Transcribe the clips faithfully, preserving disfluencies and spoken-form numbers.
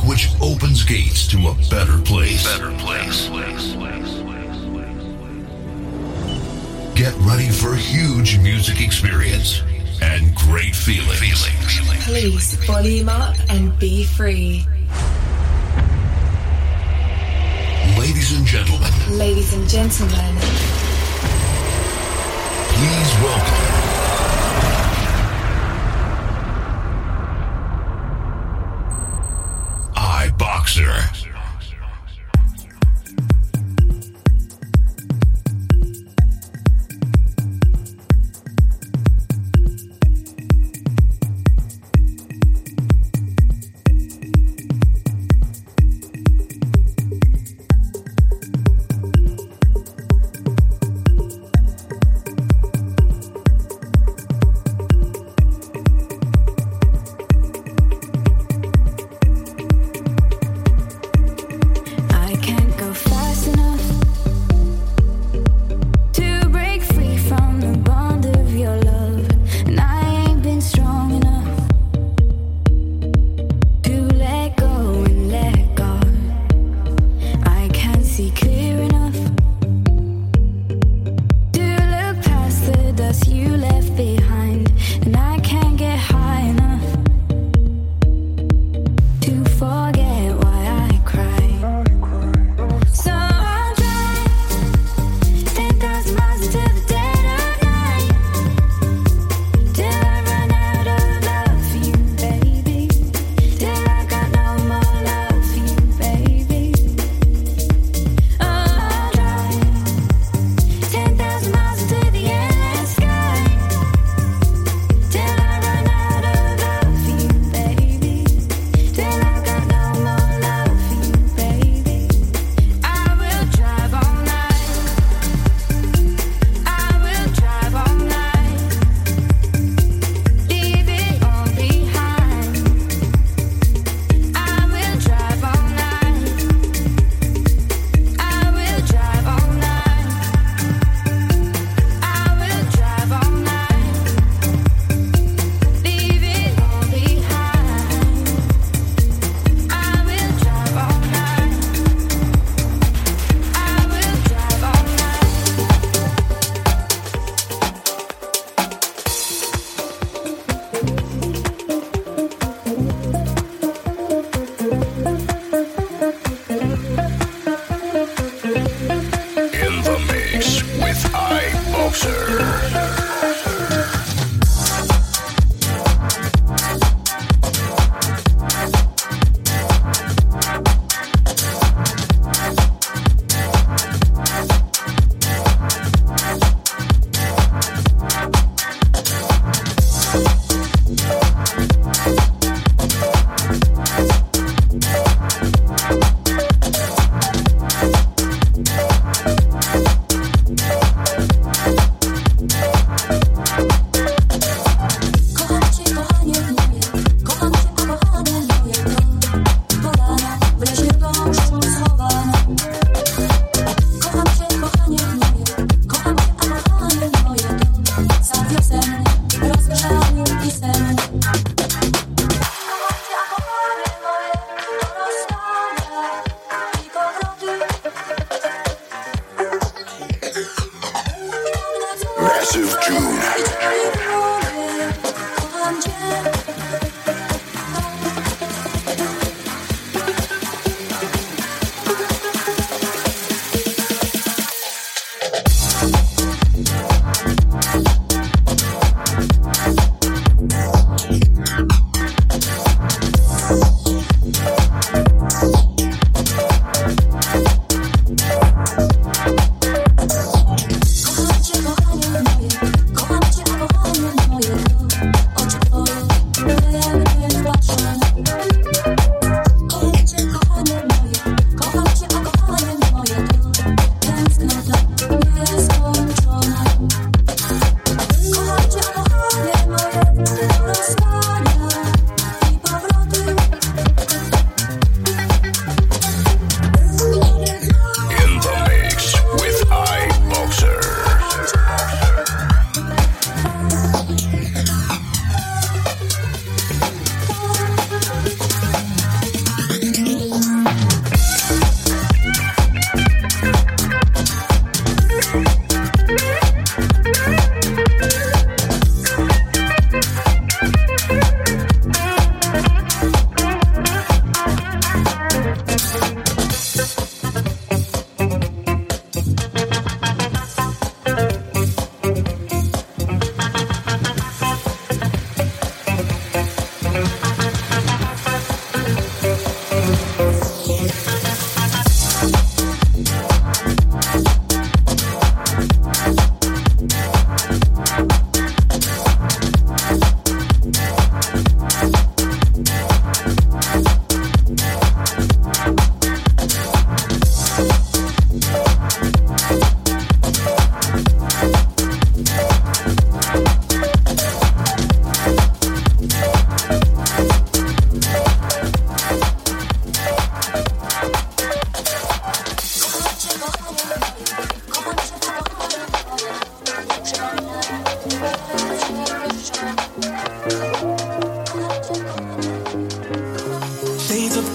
which opens gates to a better place. Better place. Get ready for a huge music experience and great feelings. Feeling. Please volume up and be free. Ladies and gentlemen. Ladies and gentlemen. Please welcome. iBoxer.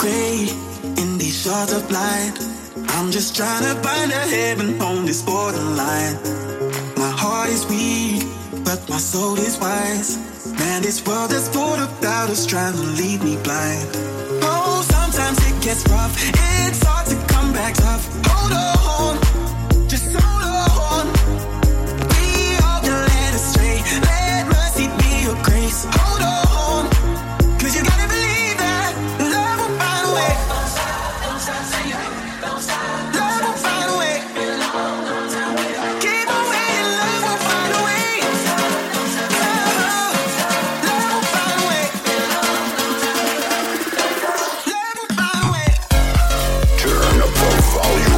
gray in these shards of light. I'm just trying to find a heaven on this borderline. My heart is weak, but my soul is wise. Man, this world is full of doubters trying to lead me blind. Oh, sometimes it gets rough. It's hard to come back tough. Hold on, just hold on. We all get led astray. Let mercy be your grace. Hold on, 'cause you gotta believe that love will find a way. Don't stop, don't stop singing, don't stop. Love will find a way. Keep on waiting, love will find a way. Love, love will find a way. Love will find a way. Turn up the volume.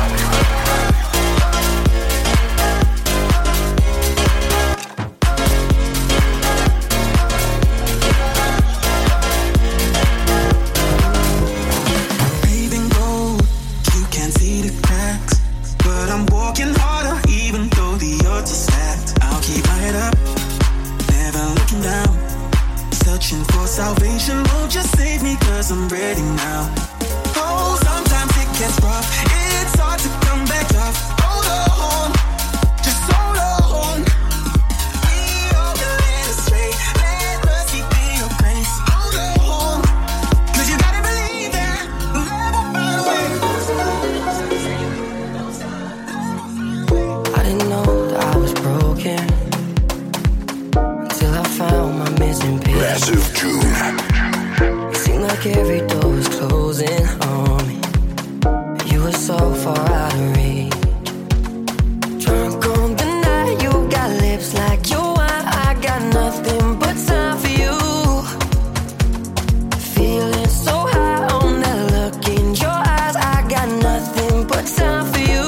Paving road, you can't see the cracks, but I'm walking harder even though the odds are stacked. I'll keep my head up, never looking down, searching for salvation. Won't you save me, 'cause I'm ready now. Oh, sometimes it gets rough, it's hard to come back tough. Hold on, just hold on. We all get led astray, let mercy be your grace. Hold on, 'cause you gotta believe that love will find a way. I didn't know that I was broken until I found my missing piece. Massive June. It seemed like every door was closing on me. You were so far out of reach. Drunk on the night, you got lips like your wine. I got nothing but time for you. Feeling so high on that look in your eyes. I got nothing but time for you.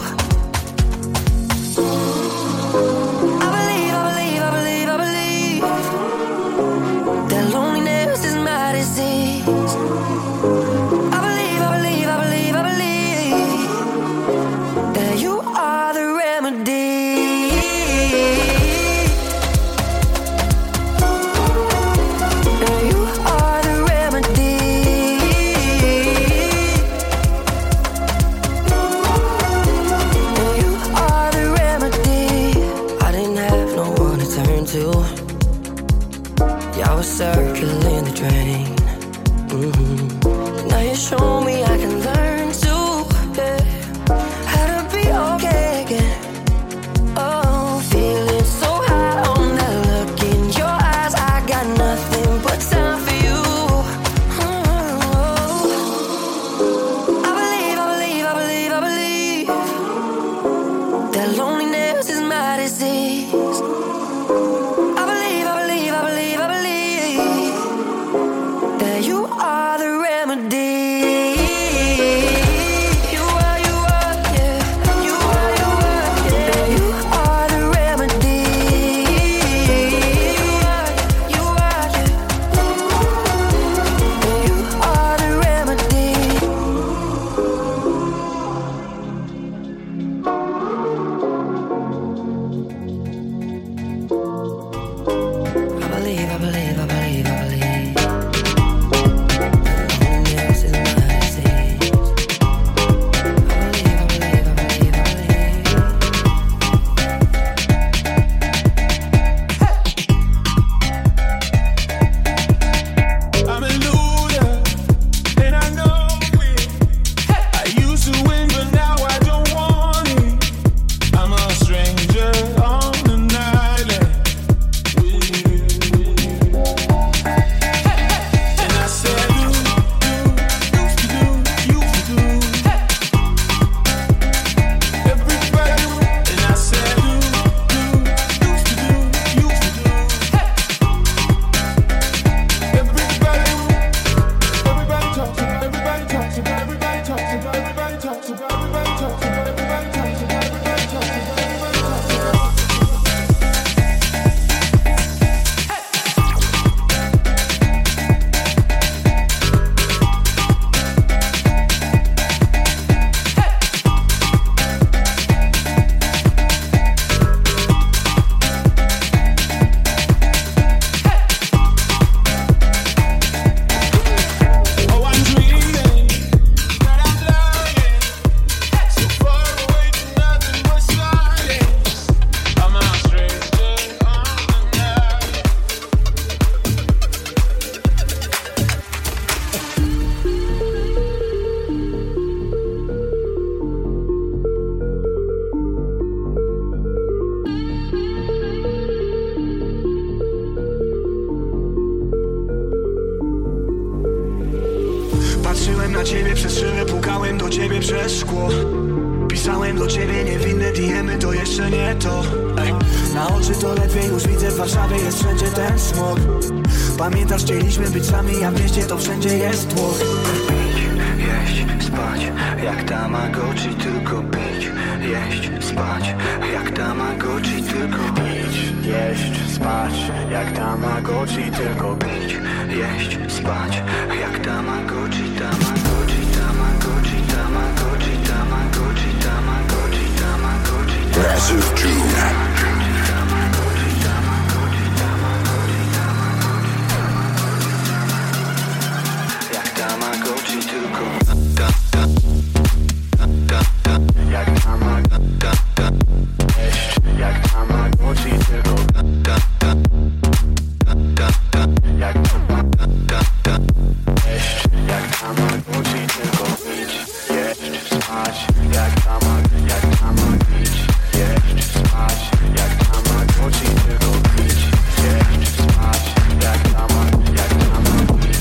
I believe, I believe, I believe, I believe that loneliness is my disease. I believe, I believe, I believe, I believe na ciebie przez szybę, pukałem do ciebie przez szkło. Pisałem do ciebie niewinne D M-y, to jeszcze nie to. Ej. Na oczy to ledwie już widzę, w Warszawie jest wszędzie ten smog. Pamiętasz, chcieliśmy być sami, a w mieście to wszędzie jest tłok. Pić, jeść, spać, jak Tamagotchi, tylko pić, jeść, spać, jak Tamagotchi, tylko pić, jeść, spać, jak Tamagotchi, tylko pić, jeść, spać, jak Tamagotchi, Tamagotchi, Tamagotchi, Tamagotchi, Tamagotchi, Tamagotchi, Tamagotchi, Massive June. Tamagotchi tylko da, da, da, da, jak Tamagotchi, da, da, jak Tamagotchi tylko da, da, da, da, jak Tamagotchi, da, da, jak Tamagotchi tylko pić, jeść, spać, jak Tamagotchi, jak Tamagotchi, jeść, spać, jak Tamagotchi tylko pić, jeść, spać, jak Tamagotchi, jak Tamagotchi.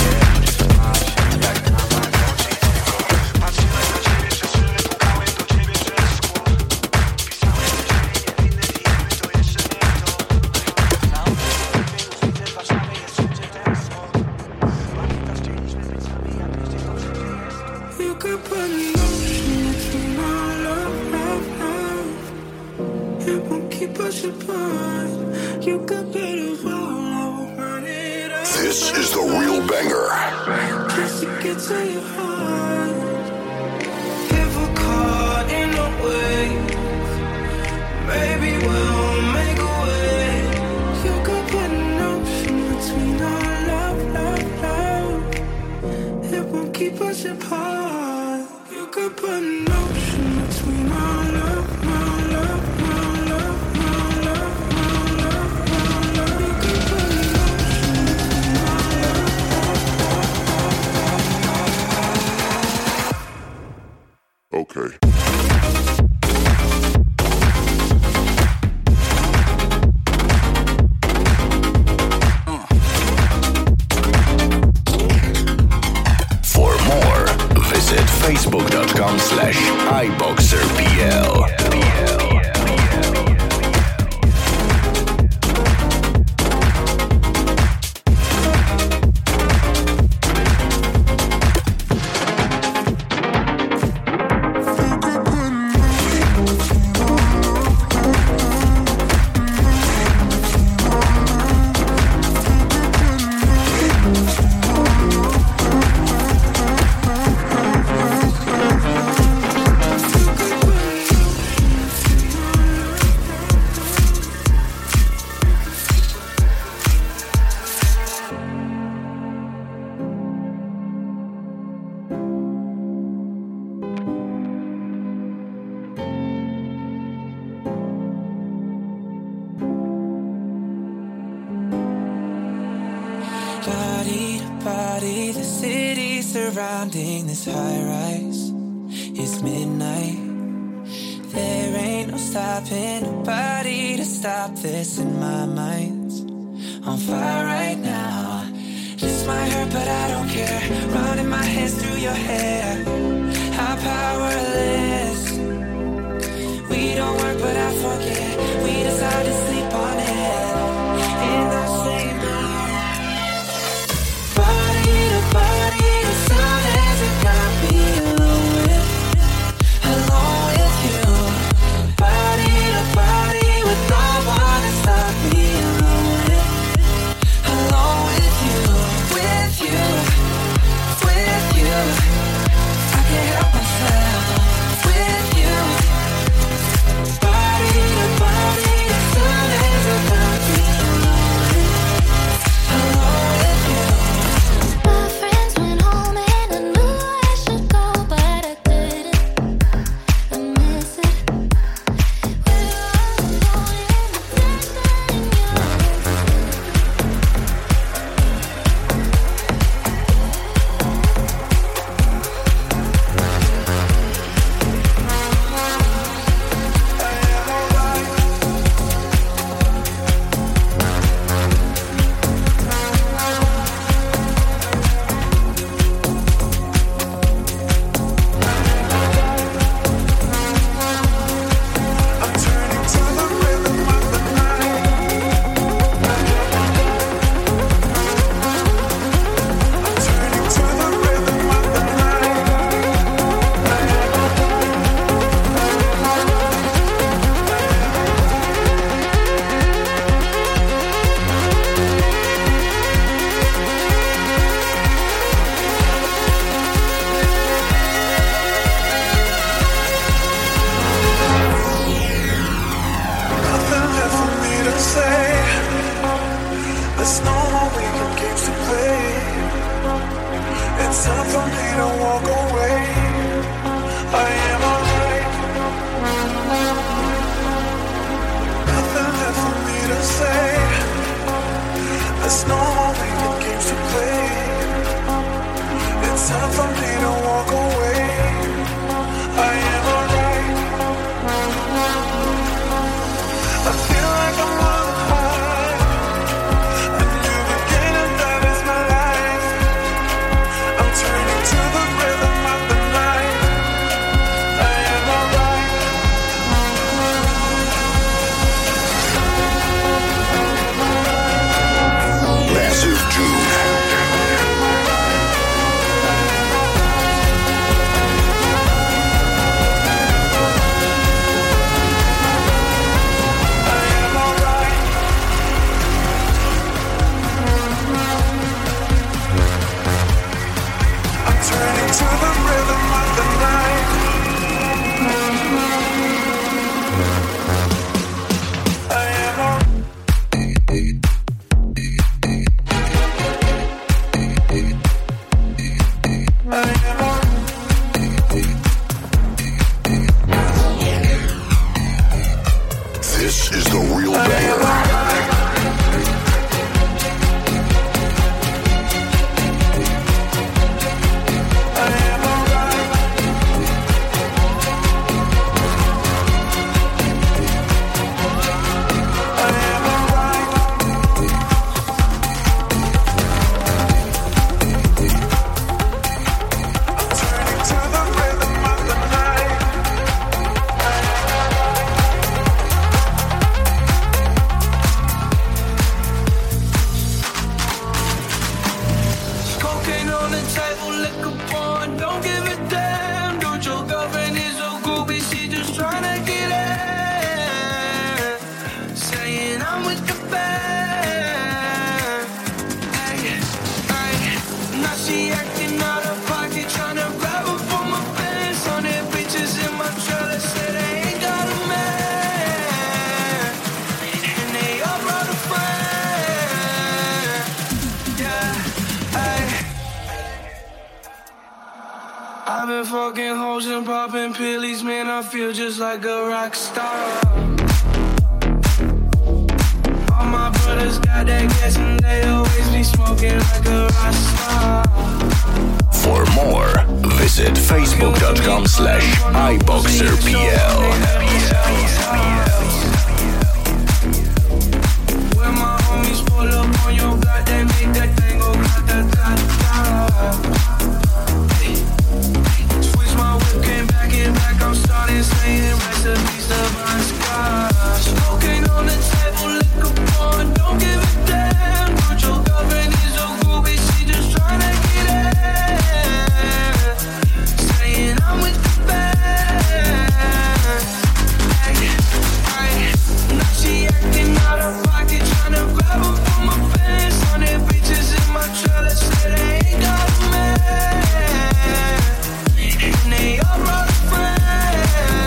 This is the real banger. Just to get to your heart. If we're caught in a wave, maybe we'll make a way. You could put an ocean between our love, love, love. It won't keep us apart. You could put an ocean between our love, our love, our love, our love, our love, our love. You could put an ocean between our love. Okay. For more, visit facebook.com slash iBoxerPL. Body to body, the city surrounding this high rise. It's midnight. There ain't no stopping, nobody to stop this, and my mind's on fire right now. This might hurt, but I don't care. Running my hands through your hair. I'm powerless. We don't work, but I forget. We decide to sleep on it in the same room. Body to body, as soon as it got me alone with, alone with you. Body to body, with no one to stop me alone with, alone with you, with you, with you. walk away. I am alright. Nothing left for me to say. There's no more playing games to play. It's time for me to walk away. I am alright. I feel like I'm on a high. A new beginning, that is my life. I'm turning to the rhythm of the night. I am alright. Massive June. Turning to the rhythm of the night. I am all I am all This is the real banger. I've been fucking hoes and popping pillies, man, I feel just like a rock star. All my brothers got that gas and they always be smoking like a rock star. For more, visit facebook.com slash iBoxerPL. When my homies pull up on your block, they make that thing go grata-ta-ta. Switch my whip, came back in back, I'm starting saying recipes to Bon Scott. Smoking on the table, liquor porn, don't give a damn. Put your girlfriend is so groovy, she just tryna get in. Saying I'm with the band. Hey, hey. Now she acting out of pocket, tryna grab her from my pants. On their bitches in my trailer, say they ain't got a man. And they all brought a friend.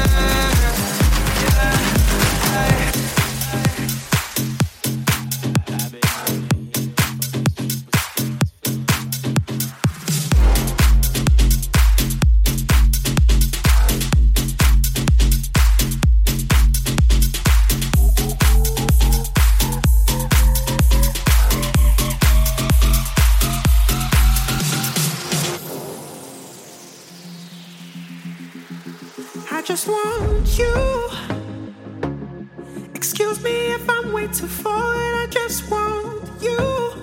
Yeah, hey. I just want you. Excuse me if I'm way too forward. I just want you.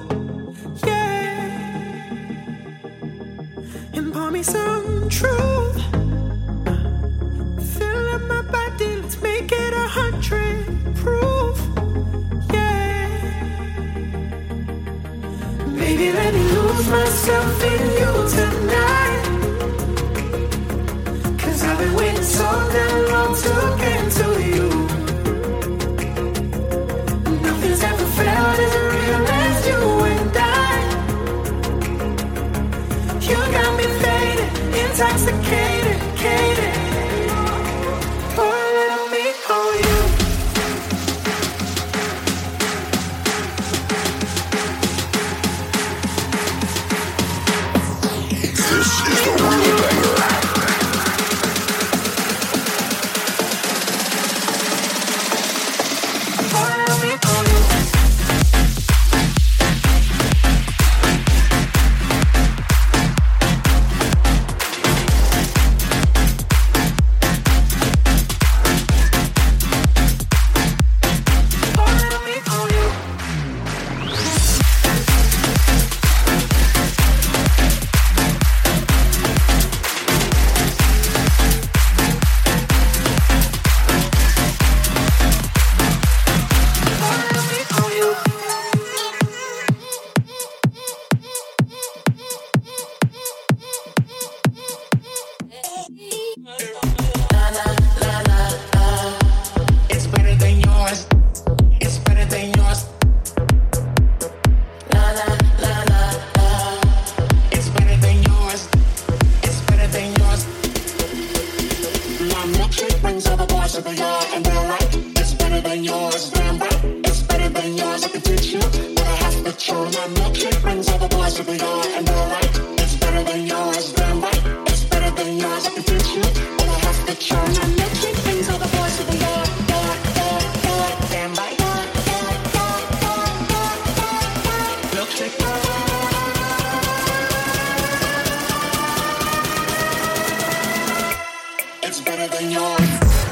Yeah. And pour me some truth. Fill up my body, let's make it a hundred proof. Yeah. Baby, let me lose myself in you tonight. I've been waiting so damn long to get to you. Nothing's ever felt as real as you and I. You got me faded, intoxicated, cated. Pour a little me on you. This is the real of the yard and they're like, it's better than yours, damn right. It's better than yours, I can teach you. But I have to churn my milkshake brings all the boys to the yard and they're like, it's better than yours, damn right. It's better than yours, I can teach you. But I have to churn my milkshake brings all the boys to the yard, yard, yard, yard, damn right. Milkshake. It's better than yours.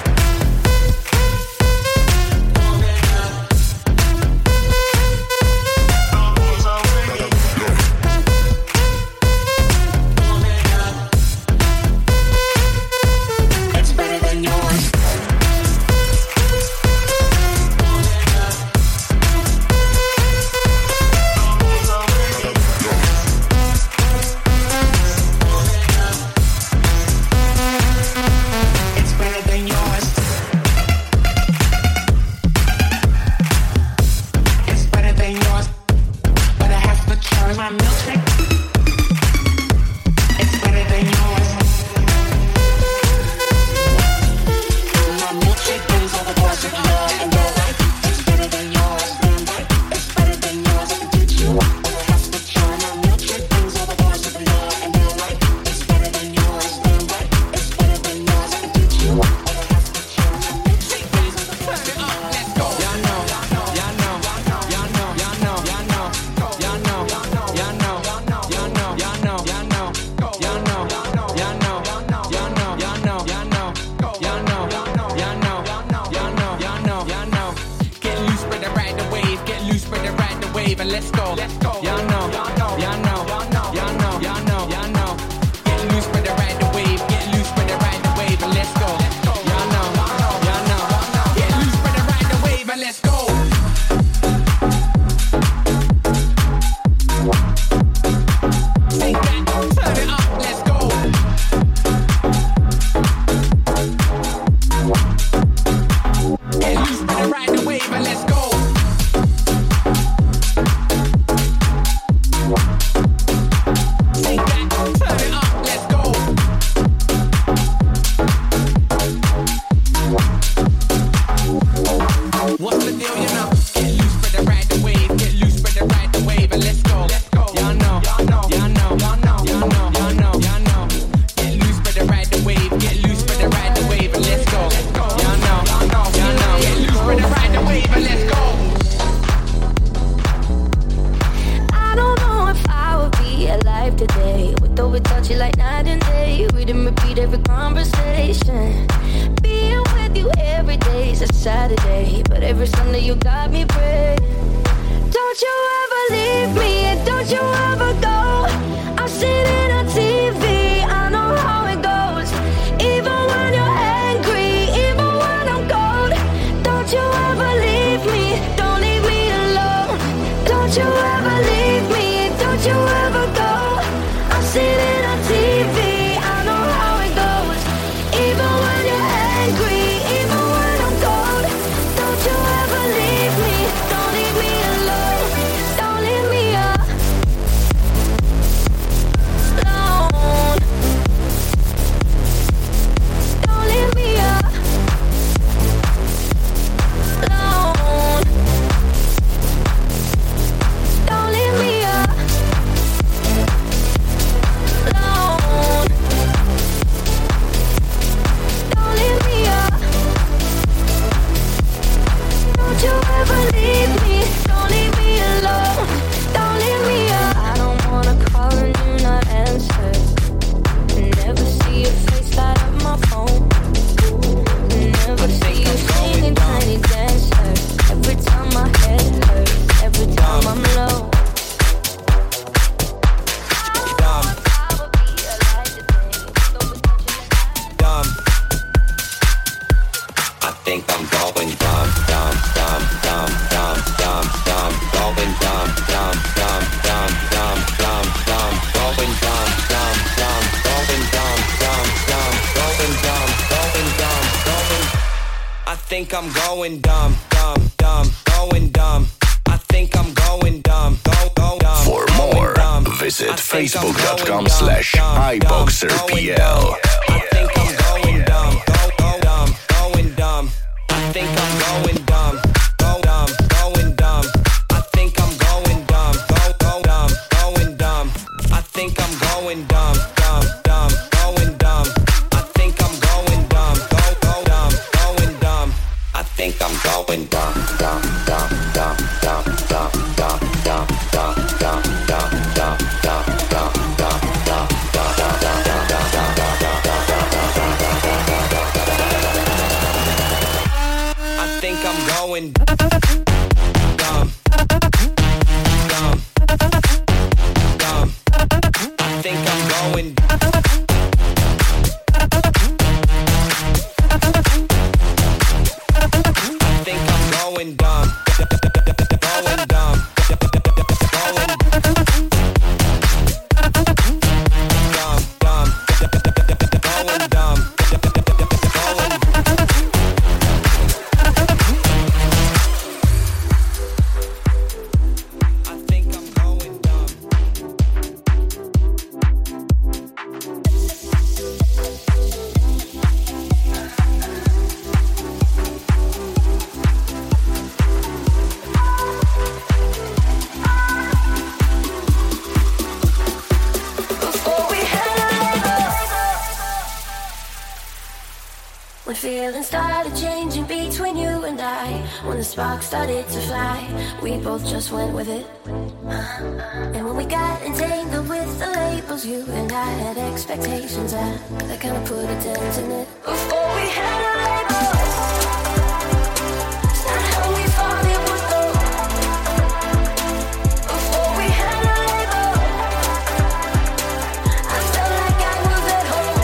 think I'm going dumb, dumb, dumb, going dumb. I think I'm going dumb, go, go, dumb. For more, visit facebook.com slash iBoxerPL. I think I'm going dumb, go, go, dumb, going dumb. going dumb, dumb, dumb, dumb, dumb, dumb, dumb, dumb, dumb, dumb, dumb, dumb, dumb, dumb, dumb, dumb, I think I'm going dumb, dumb, dumb. I think I'm going. I think I'm going dumb, going dumb, going dumb, dumb, going dumb, going. I think I'm going dumb. When feelings started changing between you and I, when the spark started to fly, we both just went with it. And when we got entangled with the labels, you and I had expectations that, that kind of put a dent in it. Before we had a label, it's not how we thought it would go. Before we had a label, I felt like I was at home.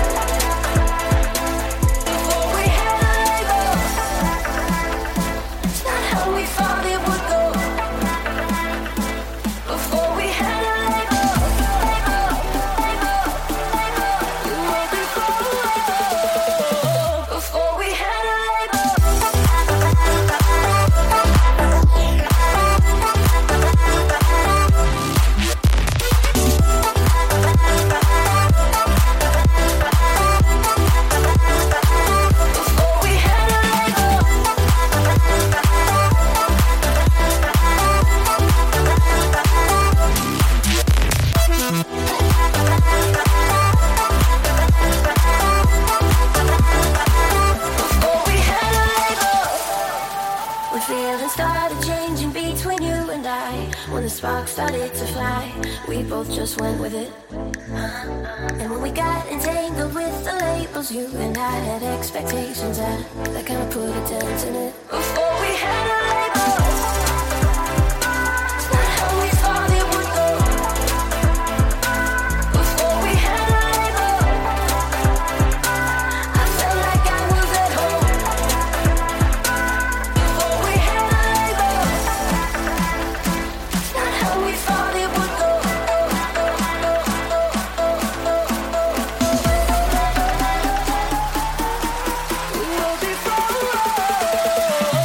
Before we had a label, it's not how we thought it would go. Before we had a label, label, label, label, you know before label, before we had a label. Before we had a label. Before we had a label. When feelings started changing between you and I, when the spark started to fly, we both just went with it. And when we got entangled with the labels, you and I had expectations that, that kind of put a dent in it. Before we had a label, it's not how we thought it would go. Before we had a label, I felt like I was at home. Before we had a label, it's not how we thought it would go. We were before.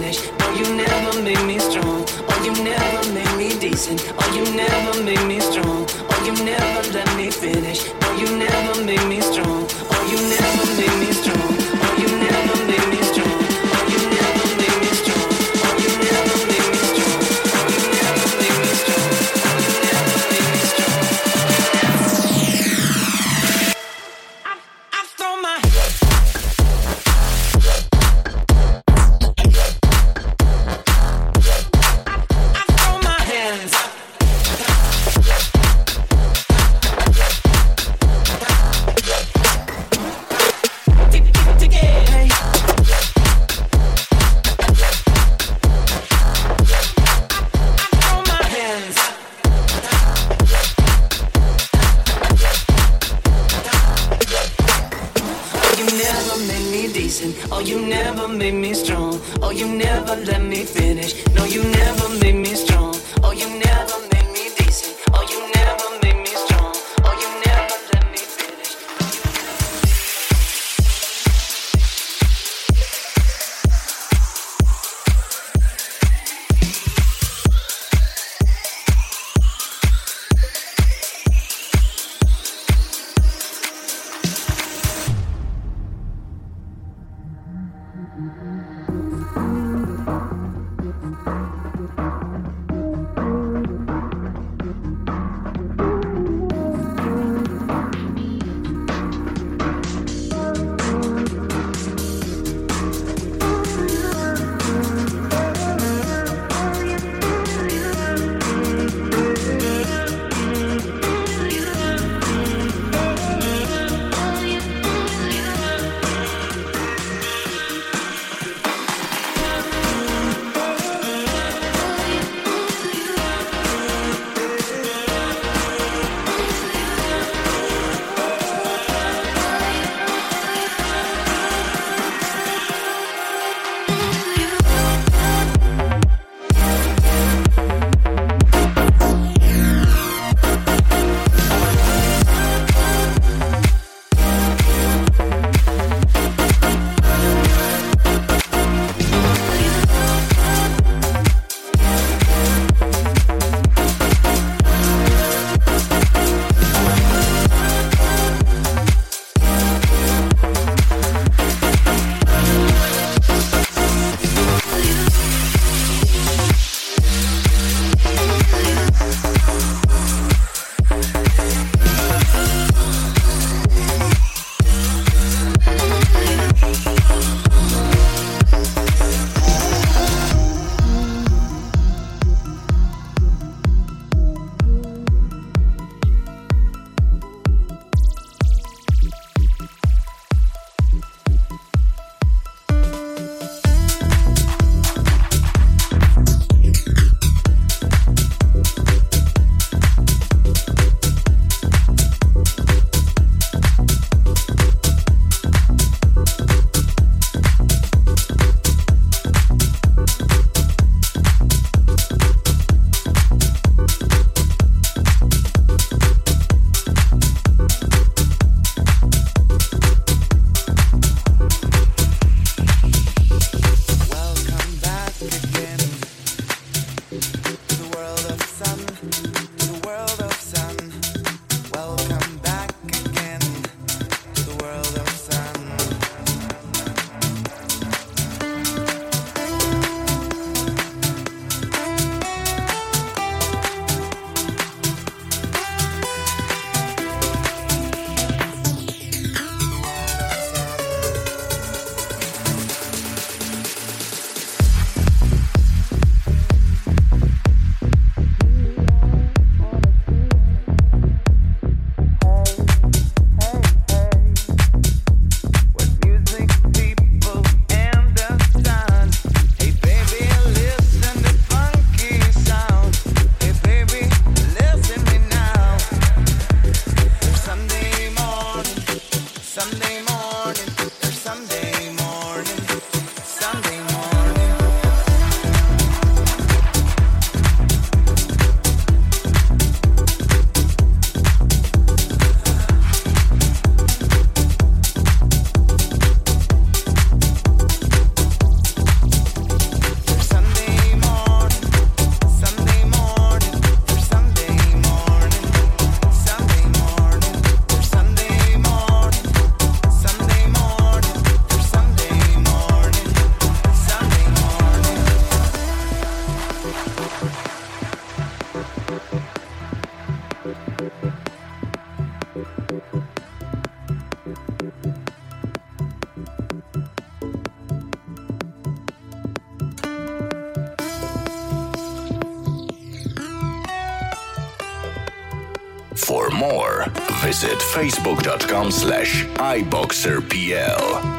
finish. No, you never made me strong. Oh, you never made me decent. Oh, you never made me strong. Oh, you never let me finish. No, you never made me strong. Oh, you never made me strong. Oh, you never made me strong. Oh, you never made me strong. Oh, you never made me strong. Oh, you never made me strong. Oh, you never made me strong. I, I throw my oh, you never made me strong. Oh, you never let me finish. No, you never made me strong. Oh, you never made me decent. Oh, you never made me strong. Oh, you never let me finish. Thank you. For more, visit facebook.com slash iboxerpl.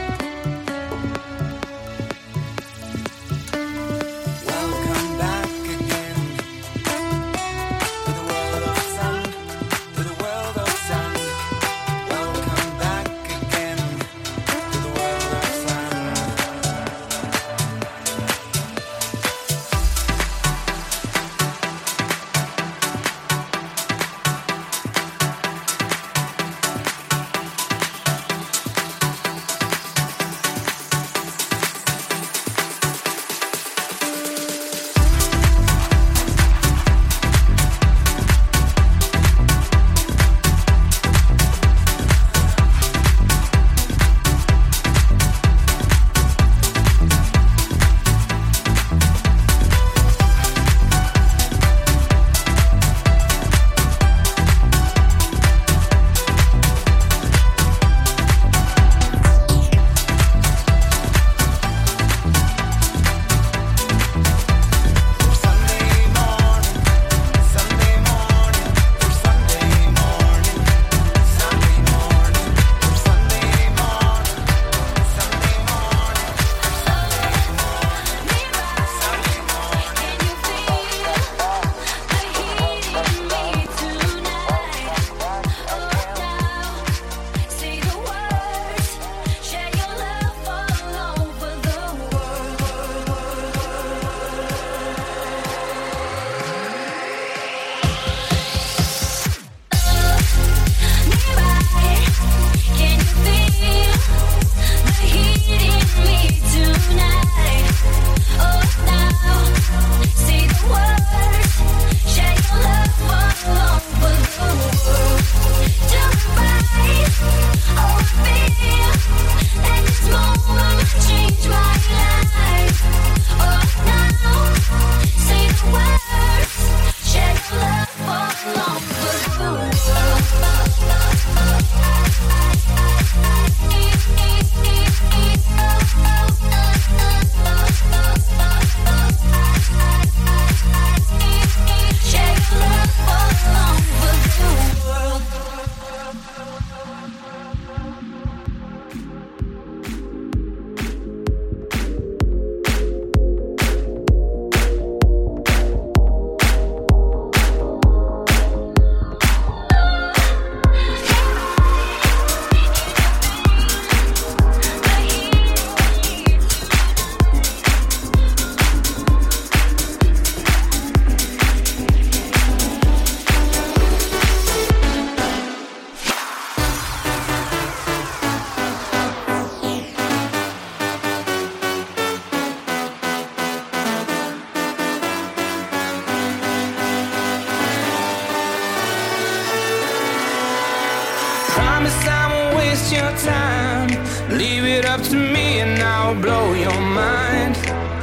Promise I won't waste your time. Leave it up to me and I'll blow your mind.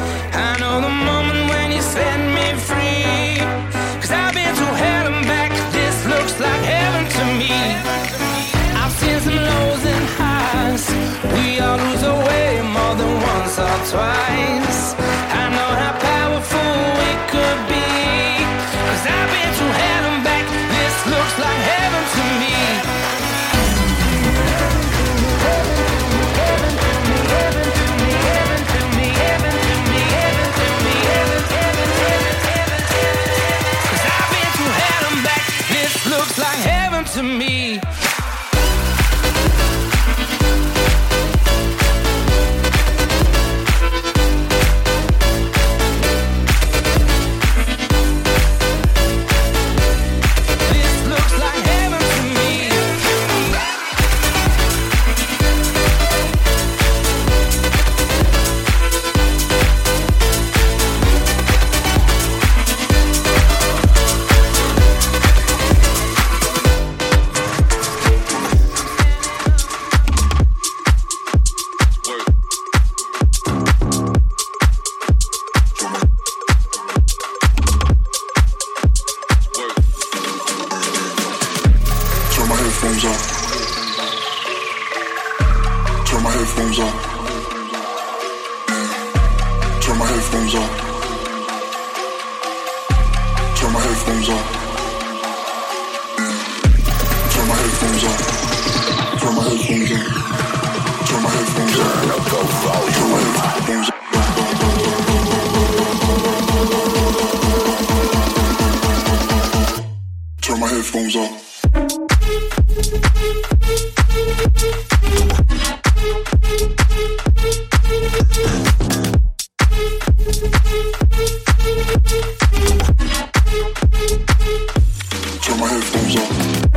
I know the moment when you set me free, 'cause I've been through hell and back. This looks like heaven to me. I've seen some lows and highs. We all lose our way more than once or twice. I know how powerful we could be, 'cause I've been through hell and back. This looks like heaven to me. Looks like heaven to me. Turn my headphones off. headphones on. Turn my headphones on.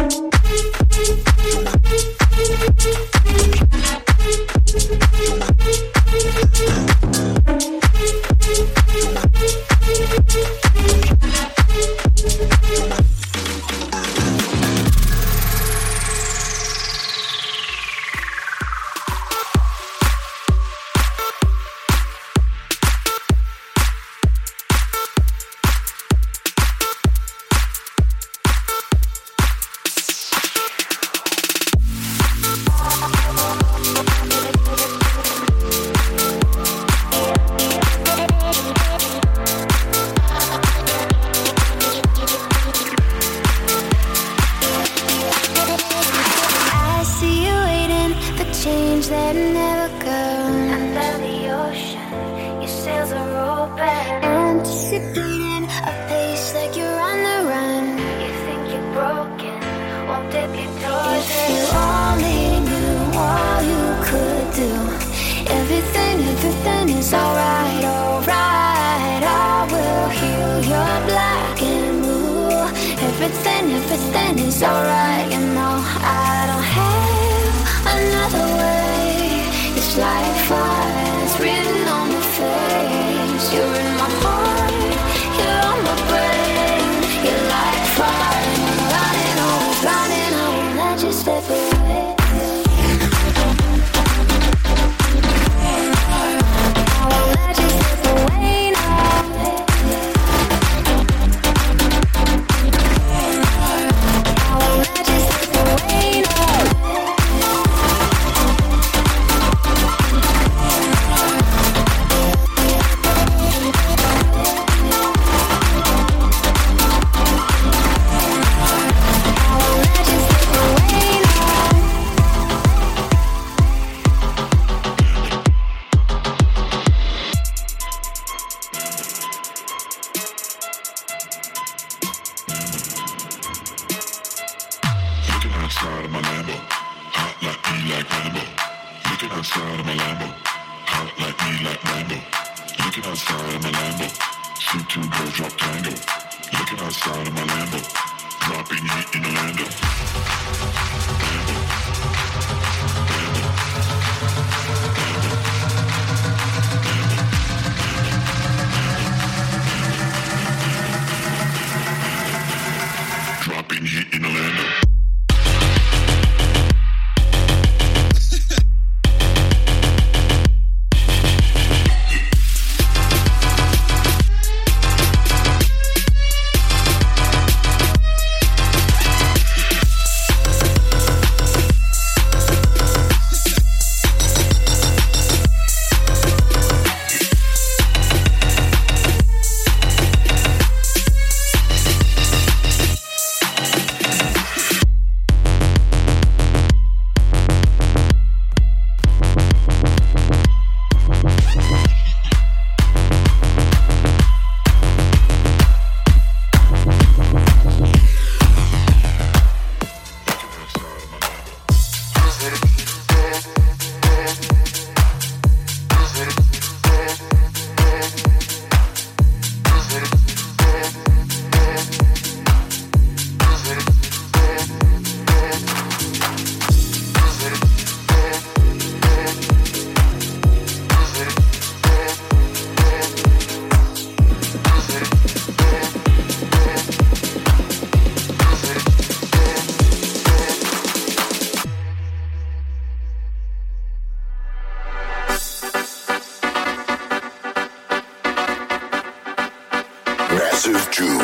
Massive June.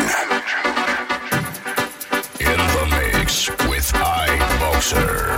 In the mix with iBoxer.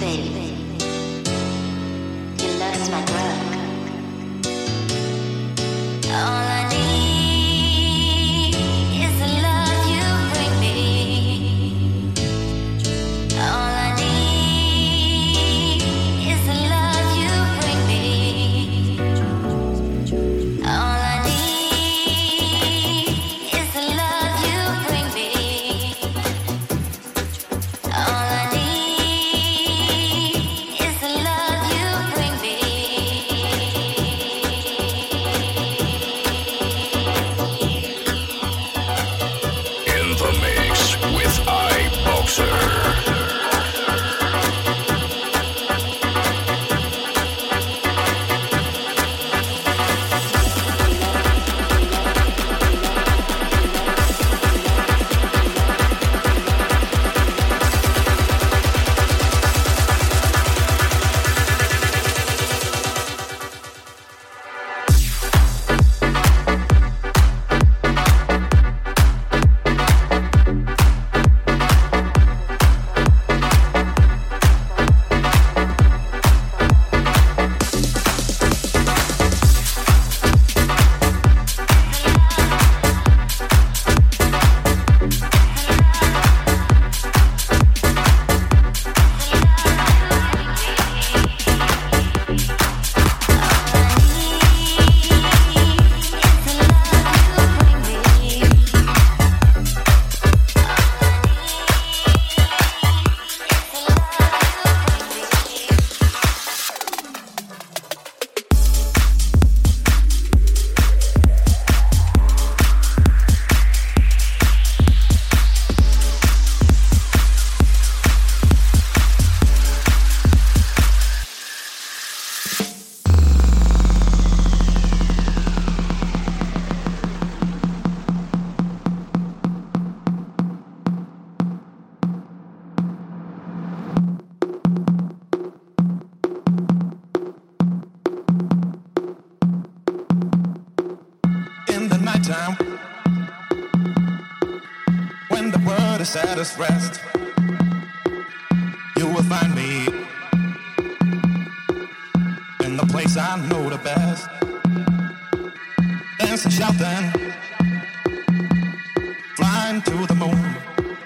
At its rest, you will find me in the place I know the best. Dancing, shouting, flying to the moon.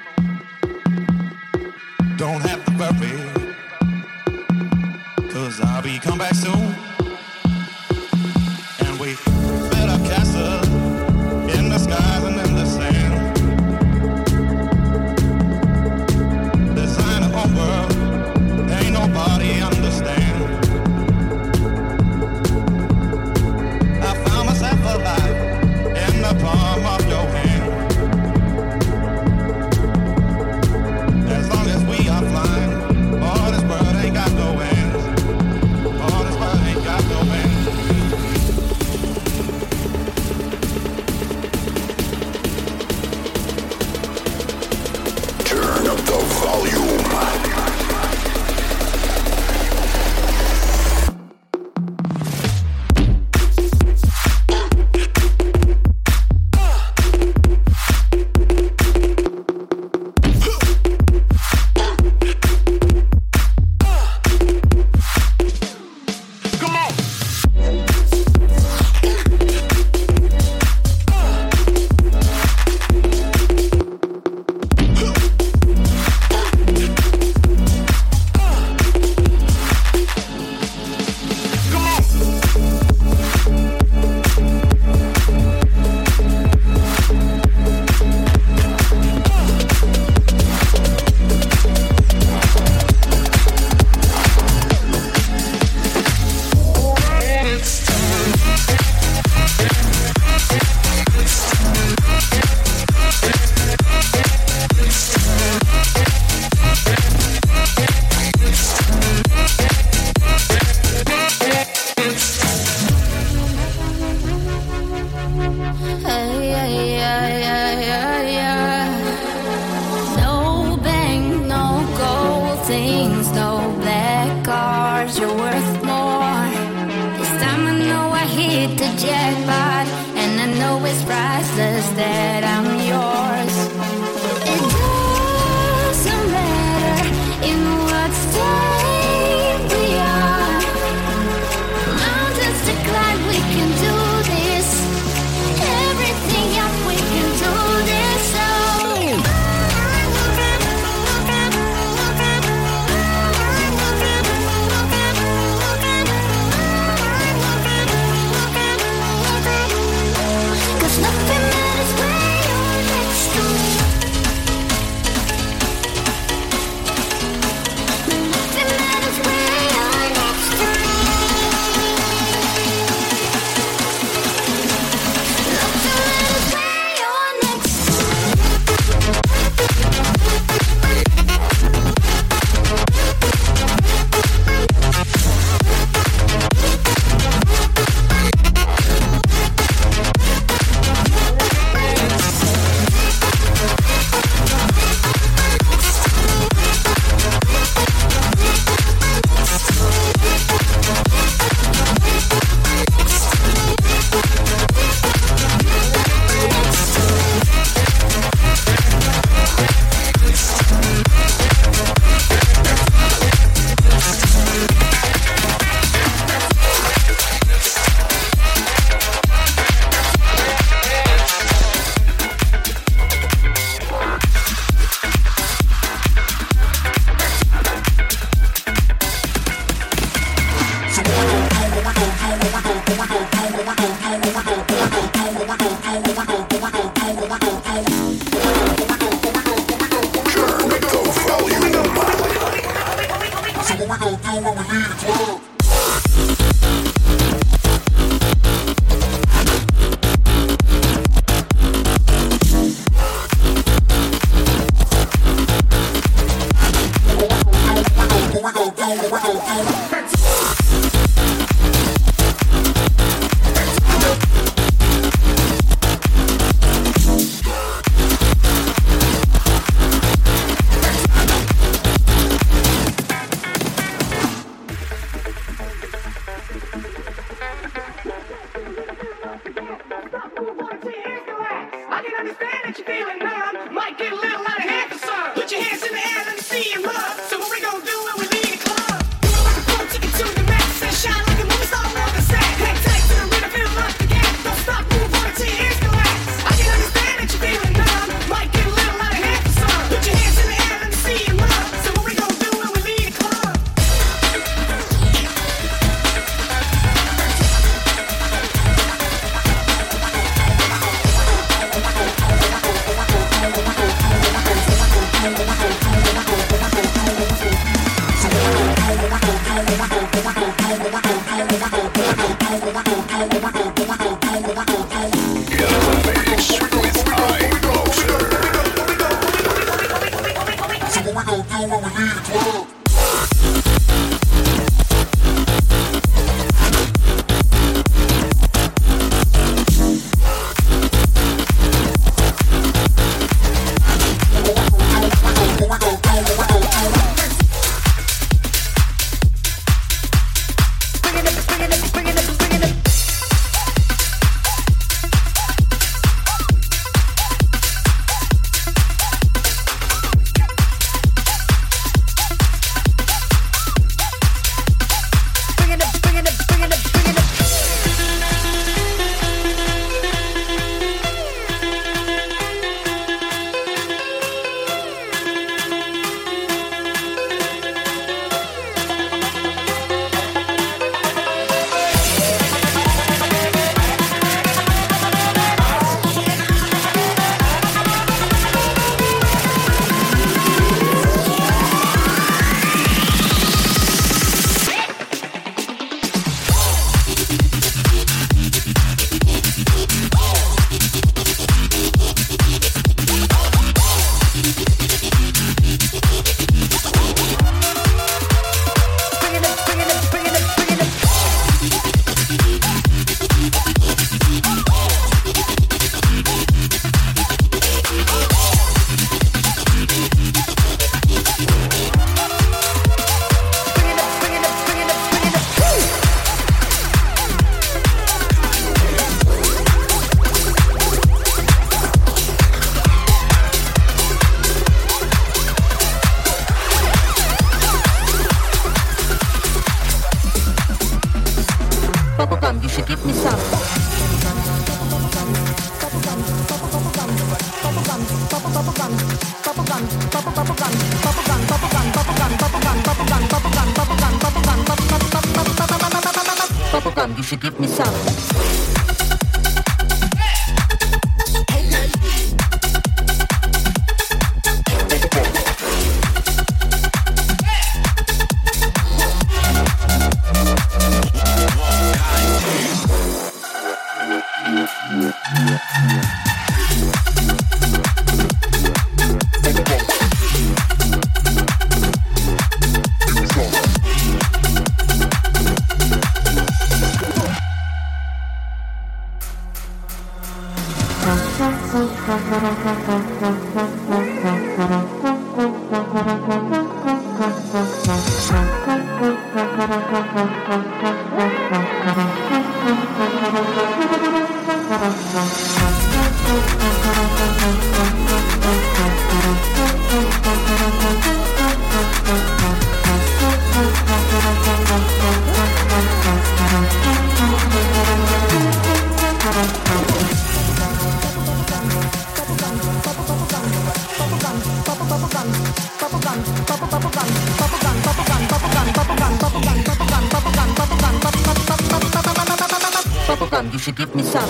Don't have to worry, 'cause I'll be come back soon. And we built a castle in the skies and in the sand. World, ain't nobody understand. I found myself alive in the palm of your hand. As long as we are flying. do when we leave the club? You should give me some. Bubblegum, you should give me some.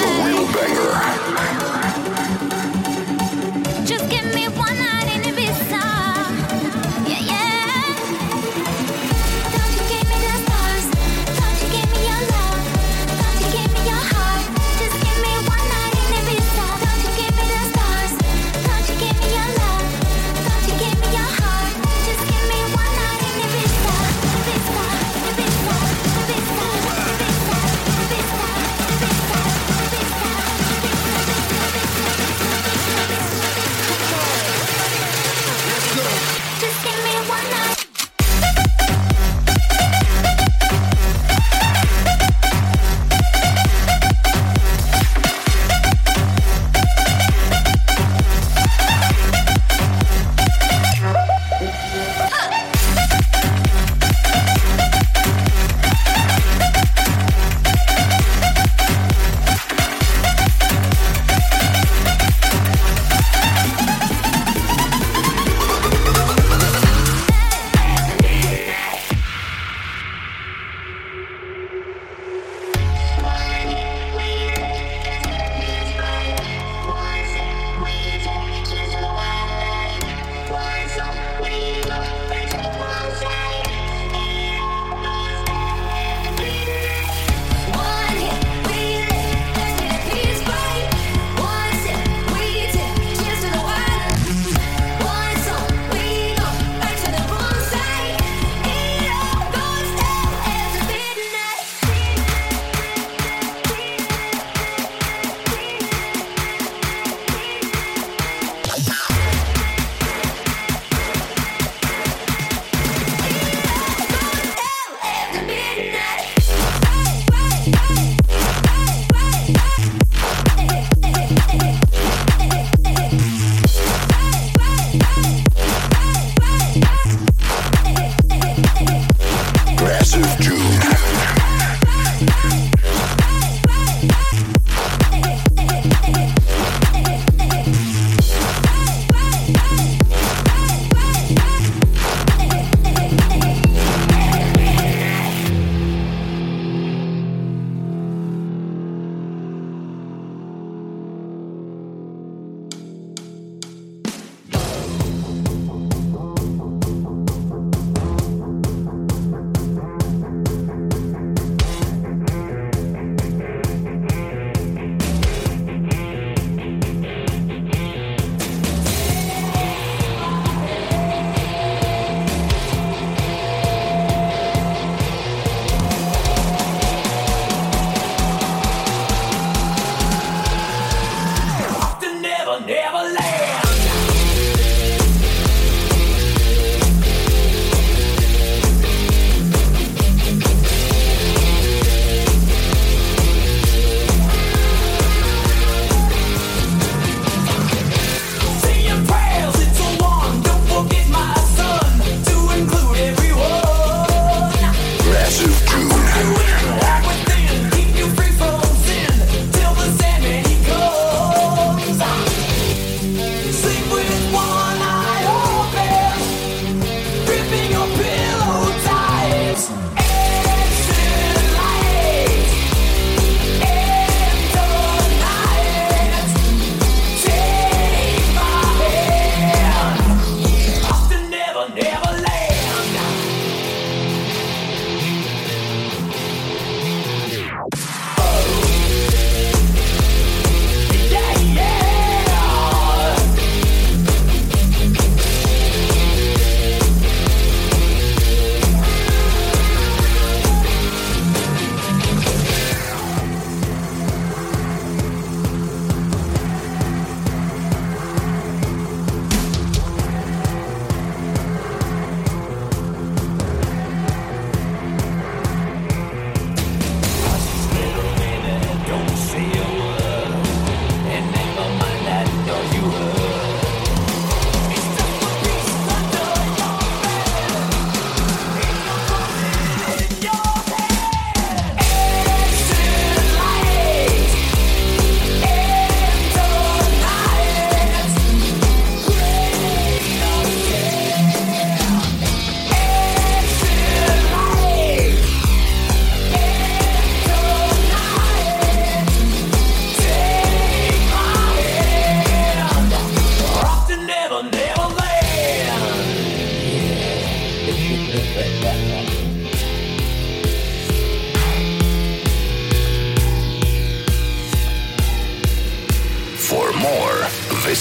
Never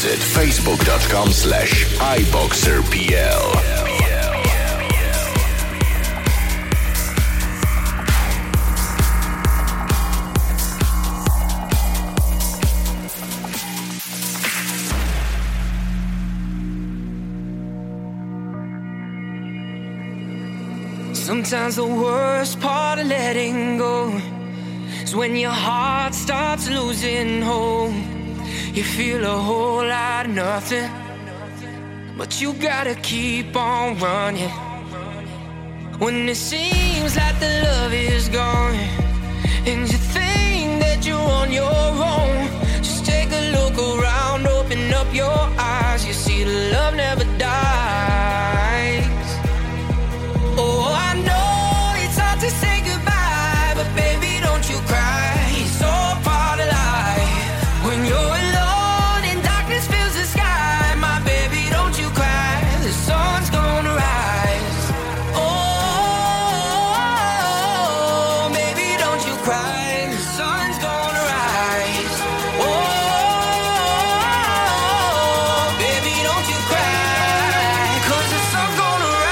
Visit facebook.com slash iboxerpl. Sometimes the worst part of letting go is when your heart starts losing hope. You feel a whole lot of nothing, but you gotta keep on running. When it seems like the love is gone and you think that you're on your own, just take a look around, open up your eyes. You see the love never dies. Oh, I know it's hard to say goodbye, but baby, don't you cry. It's all part of life. When you're alone and darkness fills the sky, my baby, don't you cry. The sun's gonna rise. Oh, baby, don't you cry. The sun's gonna rise. Oh, baby, don't you cry. 'Cause the sun's gonna rise.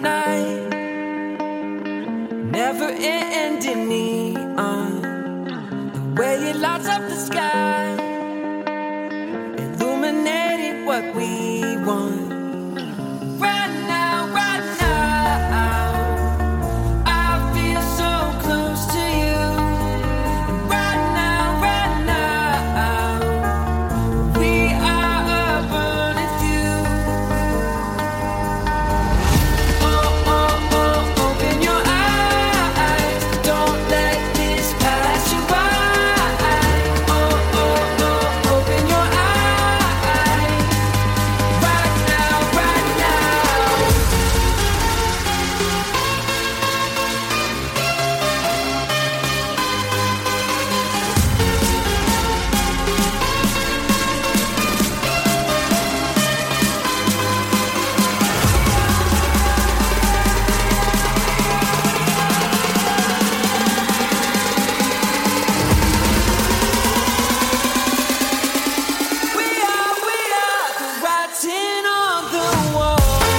night, never ending neon, the way it lights up the sky, illuminating what we want. Right now, right now, I feel so close to you. Right now, right now, we are a burning few. Oh, oh, oh, open your eyes, don't let this pass you by. Oh, oh, oh, open your eyes, right now, right now. We are, we are the writing on the wall.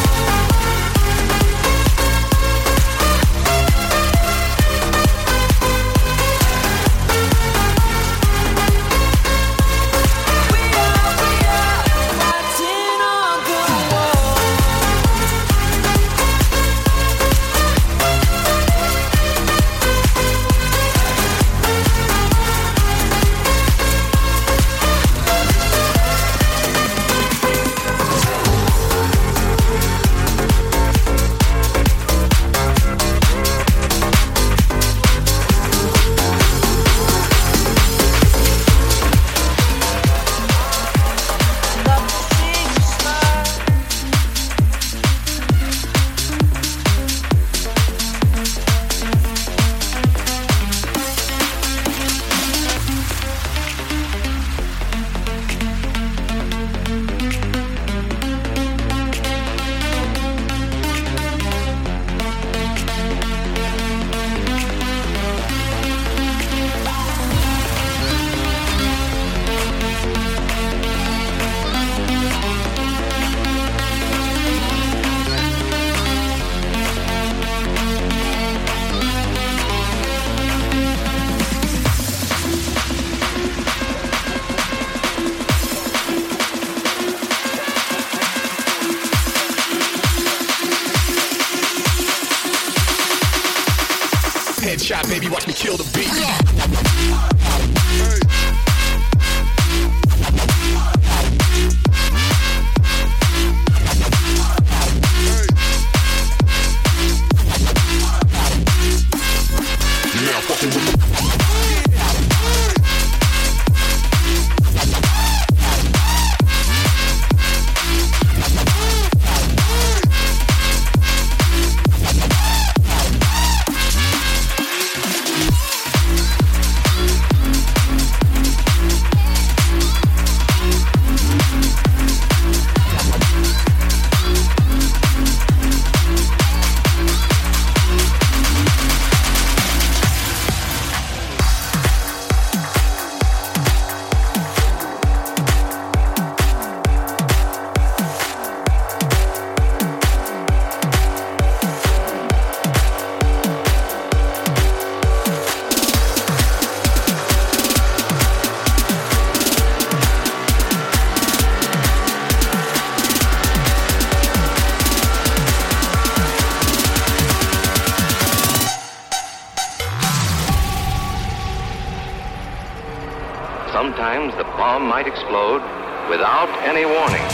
We are, we are the writing on the wall. Love to see you smile. Headshot, baby, watch me kill the beat. Now fucking with the Sometimes the bomb might explode without any warning.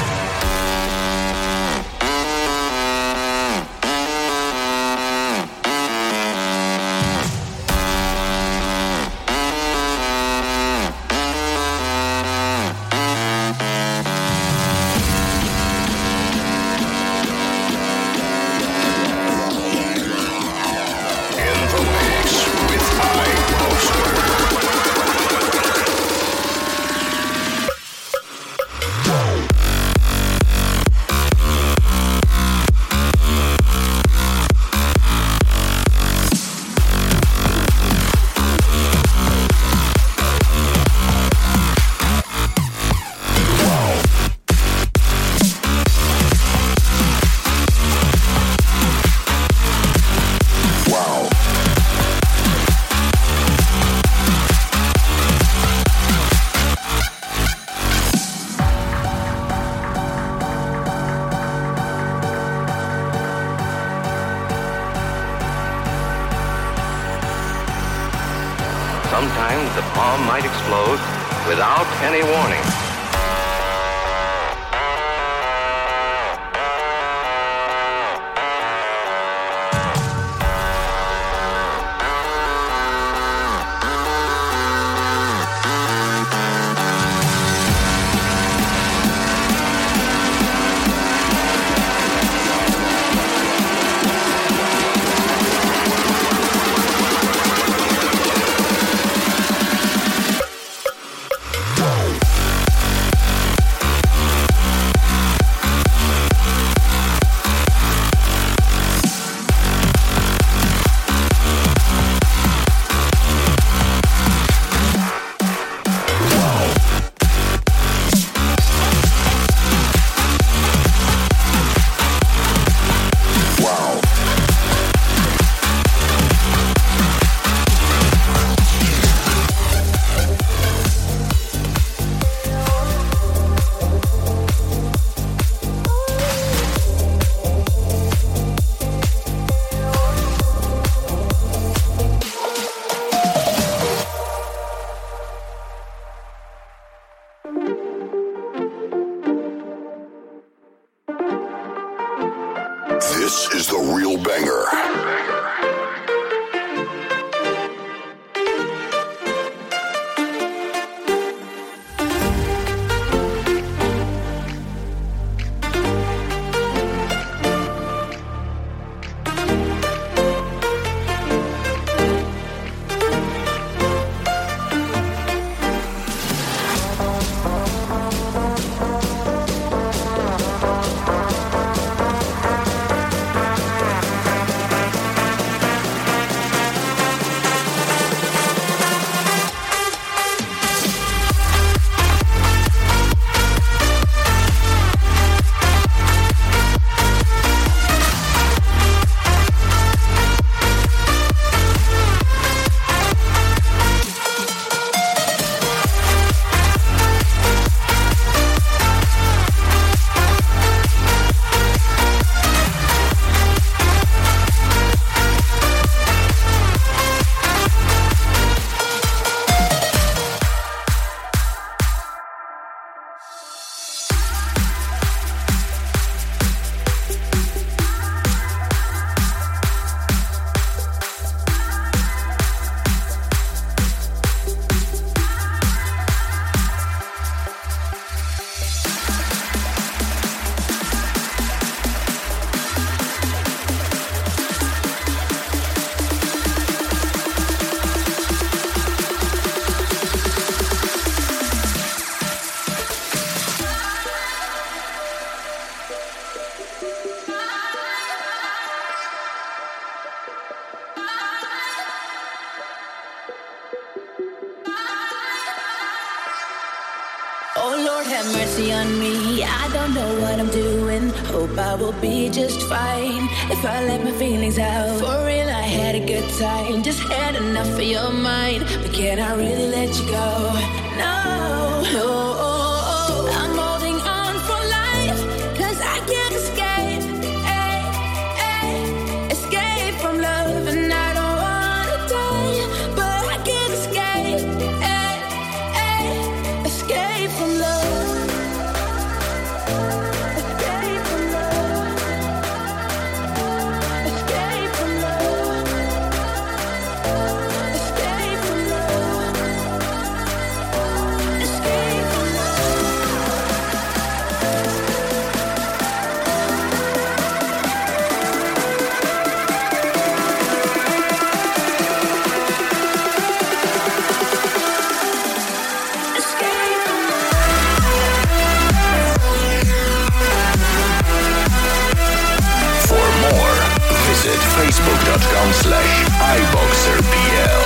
Whoa. sometimes the bomb might explode without any warning. This is the real banger. Oh Lord, have mercy on me. I don't know what I'm doing. Hope I will be just fine if I let my feelings out. For real, I had a good time. Just had enough of your mind. But can I really let you go? No, no. I'm holding on for life, 'cause I can't escape. Ay, ay, escape from love, and I don't wanna die, but I can't escape. Ay, ay, escape from love. Escape from love. Escape from love. Escape from love. Escape from For more, visit facebook.com slash iBoxerPL.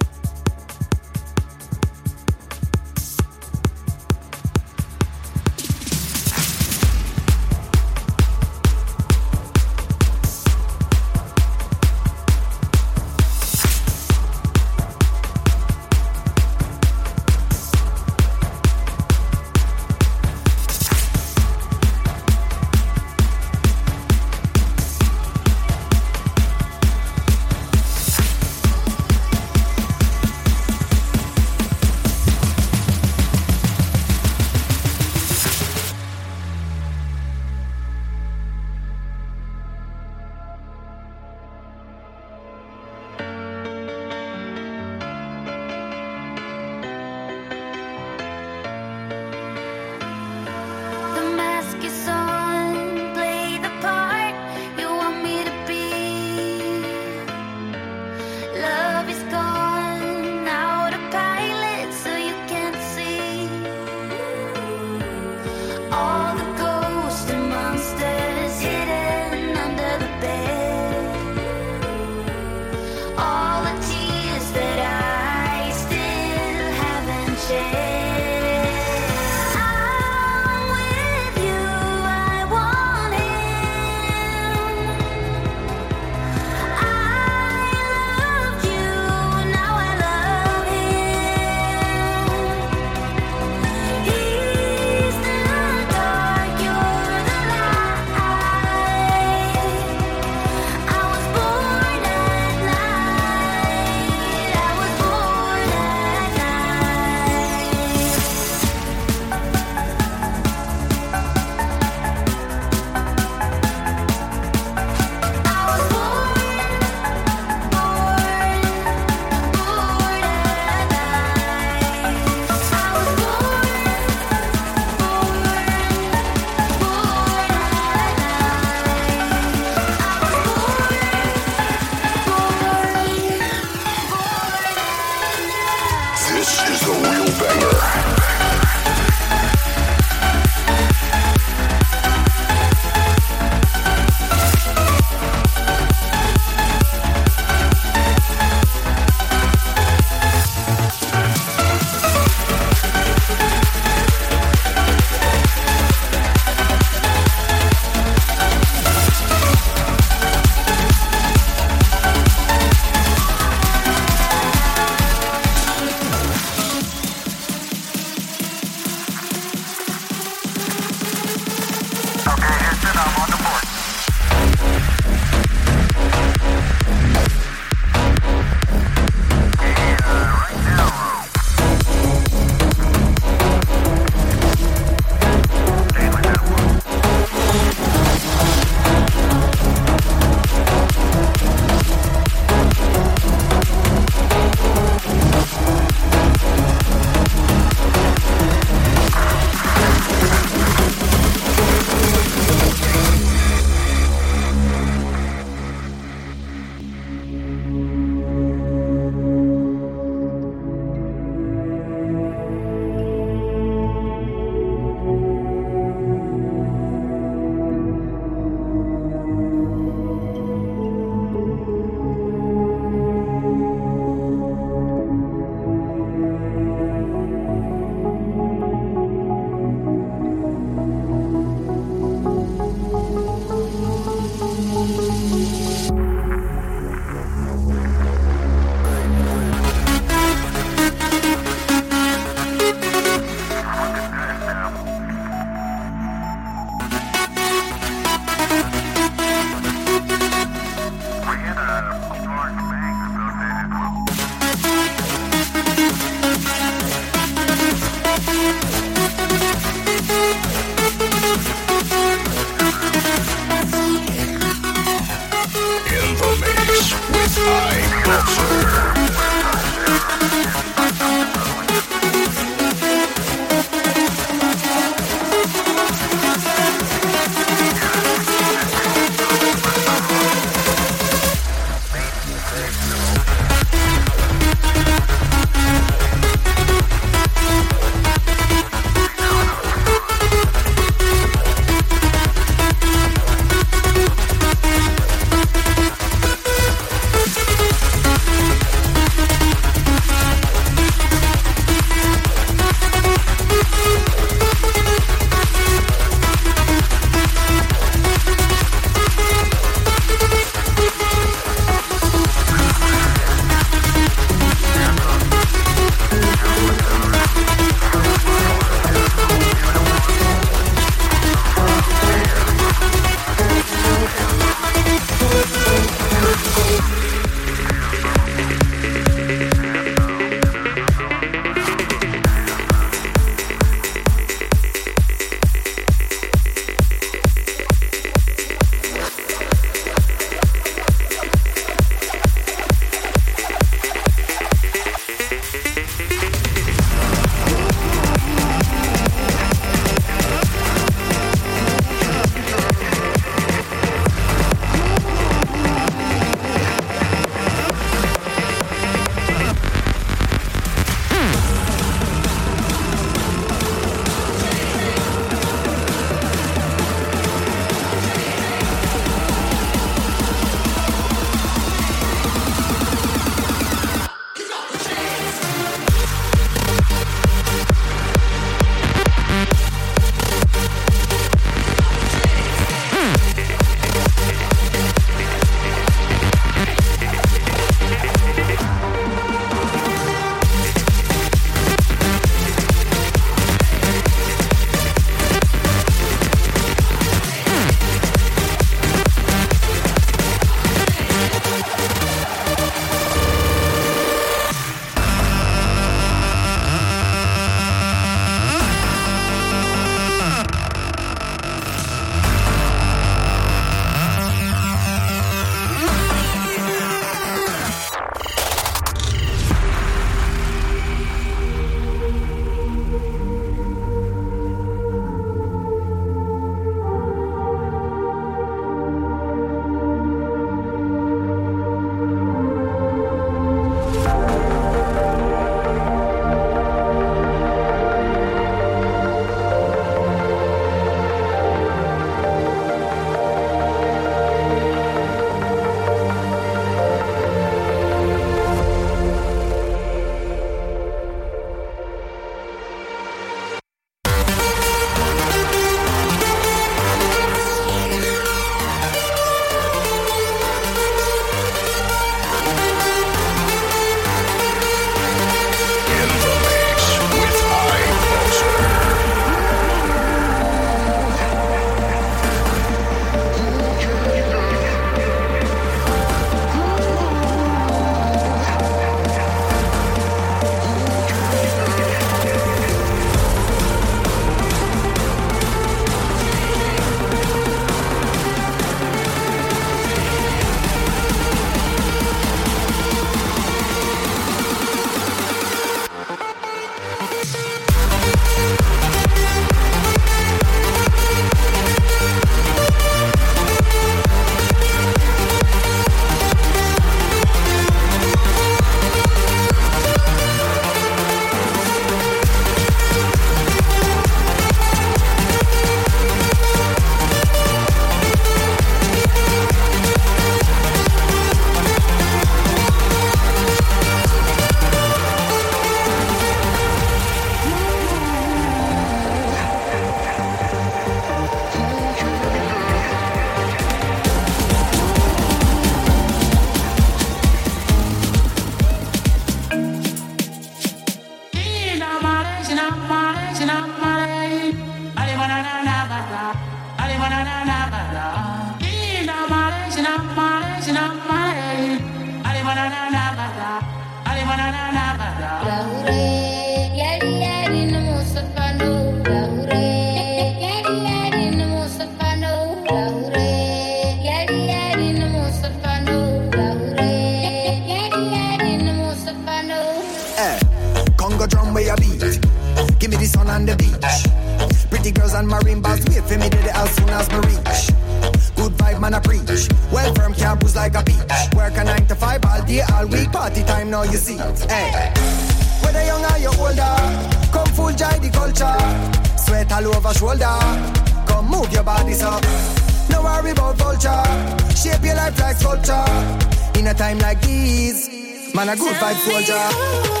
sun on the beach. Pretty girls and marine bars wait for me to the as soon as me reach. Good vibe man I preach. Well firm can't bruise like a peach. Work a nine to five all day all week. Party time now you see. Hey. Whether young or you older, come full joy the culture. Sweat all over shoulder. Come move your body so. No worry about vulture. Shape your life like sculpture. In a time like this, man a good vibe soldier.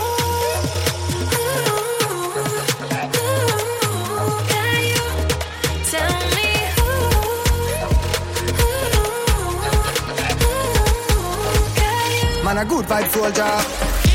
Man a good vibe soldier.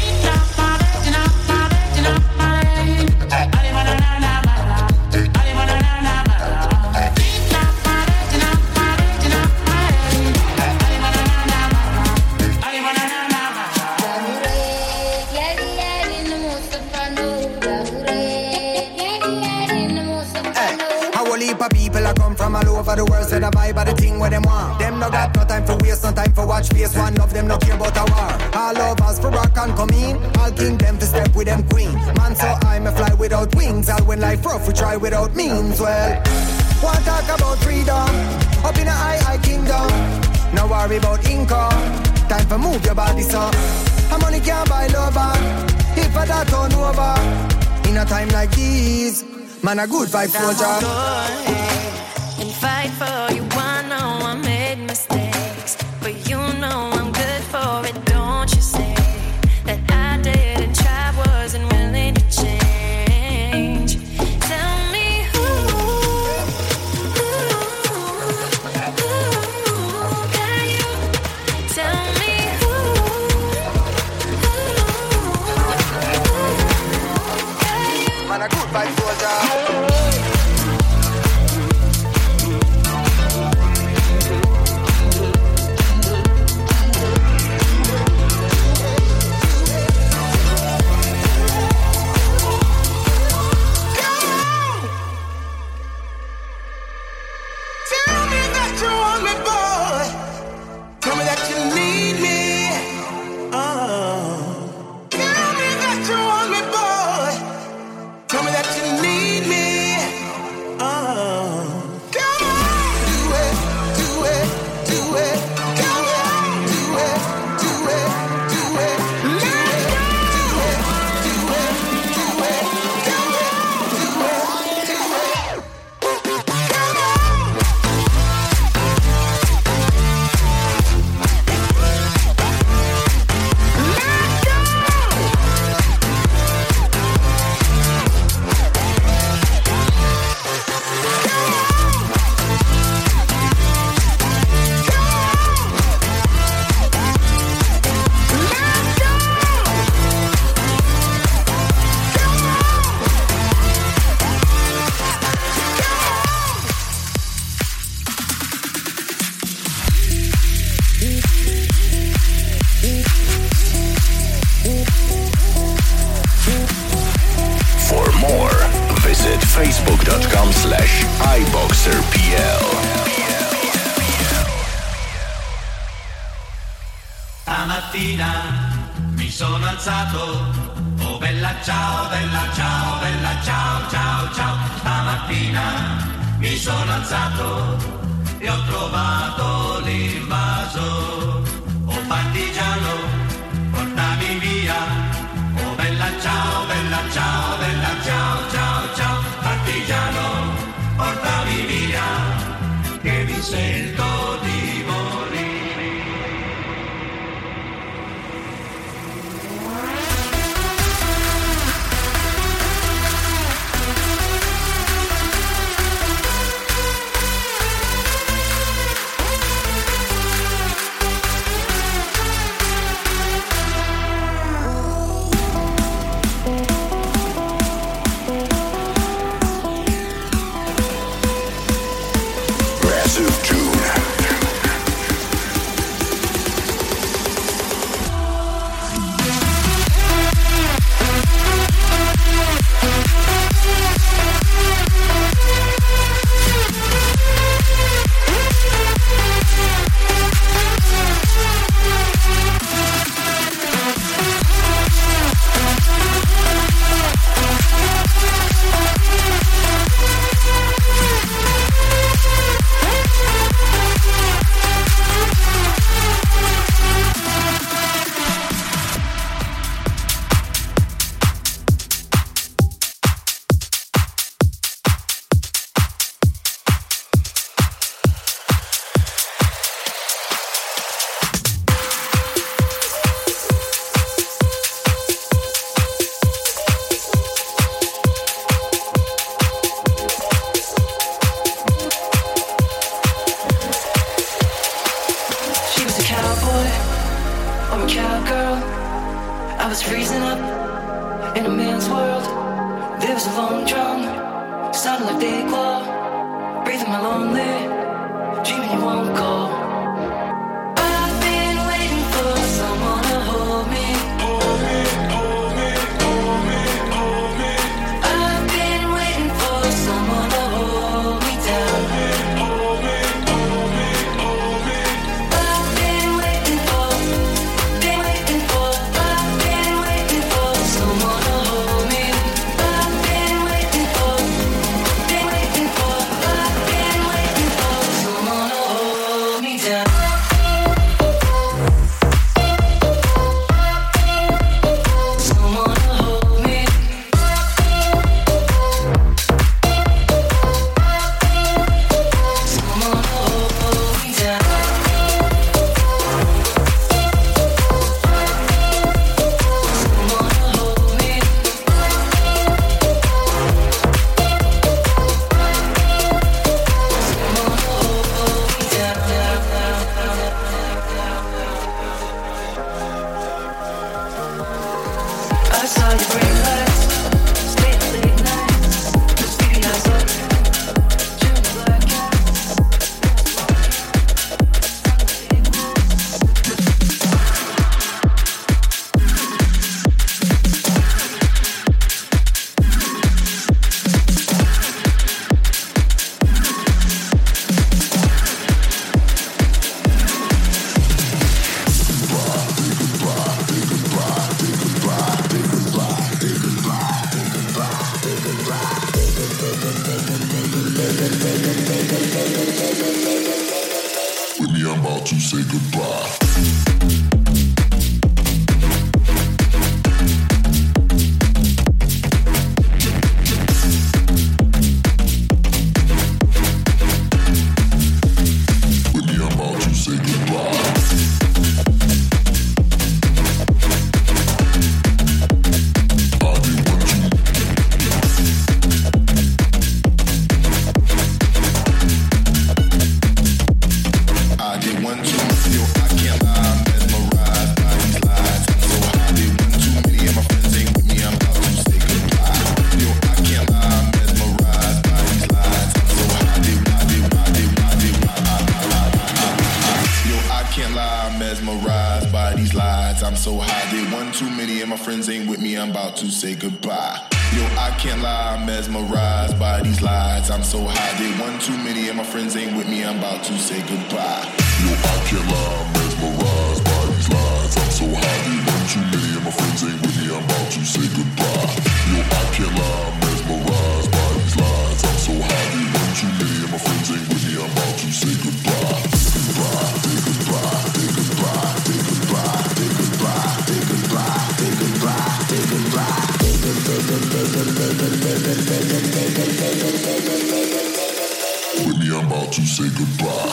People are come from all over the world, so the vibe of the thing where them want. Them no got no time for waste, no time for watch face. One of them no care about a war. All of us for rock and come in. All king them to step with them queen. Man, so I'm a fly without wings. All when life rough, we try without means. Well, want talk about freedom up in a high, high kingdom. No worry about income. Time for move your body, so how money can't buy lover. If I that turn over in a time like this. Man, a good vibe soldier. And fight for you. I know I made mistakes, but you know I'm good for it. Don't you say that I didn't try, wasn't willing to change. Tell me who, who, who can you tell me who, who can you? Man, a good vibe soldier. Facebook.com slash iBoxerPL. Stamattina mi sono alzato, oh bella ciao, bella ciao, bella ciao, ciao, ciao. Stamattina mi sono alzato e ho trovato l'invaso, oh partigiano, portami via. Oh bella ciao, bella ciao, bella ciao, ciao, ciao. Partigiano, portami via, che mi sento di morire. Massive Tune. drunk, sounding like decor, breathing my lonely, dreaming you won't go. I've been waiting for someone to hold me, hold me, hold me, hold me, hold me. I've been waiting for someone to hold me down, hold me, hold me, hold me. I've been waiting for, been waiting for, I've been waiting for someone to hold me. I've been waiting for, been waiting for, I've been waiting for someone to hold me down. Someone to hold me. Someone to hold me down. Someone to hold me. Someone to hold me down. I saw you break lights, stay up late nights, sleepy eyes open, chewing the black cat. With me, I'm about to say goodbye. With me, I'm about to say goodbye. I didn't want to. I did one too, yo, I can't lie, I'm mesmerized by these lies. I'm so high, did one too many of my friends ain't with me, I'm about to say goodbye. Yo, I can't lie, I'm mesmerized by these lies. I'm so high, did why, did why, did why, did why, I, I, I, I, I. Yo, I can't lie, I'm mesmerized by these lies. I'm so high, did one too many of my friends ain't with me, I'm about to say goodbye. Yo, I can't lie, I'm mesmerized by these lies. I'm so high, did one too many of my friends ain't with me, I'm about to say goodbye. Yo, I can't lie, I'm mesmerized by these lies. I'm so high, did one too many of my friends ain't with me, I'm about to say goodbye. Yo, I can't lie, I'm mesmerized by these lies. I'm so high, did one too many of my friends ain't with me, I'm about to say goodbye. Goodbye, say goodbye, say goodbye, say goodbye, say goodbye, say goodbye, say goodbye, say goodbye. With me, I'm about to say goodbye.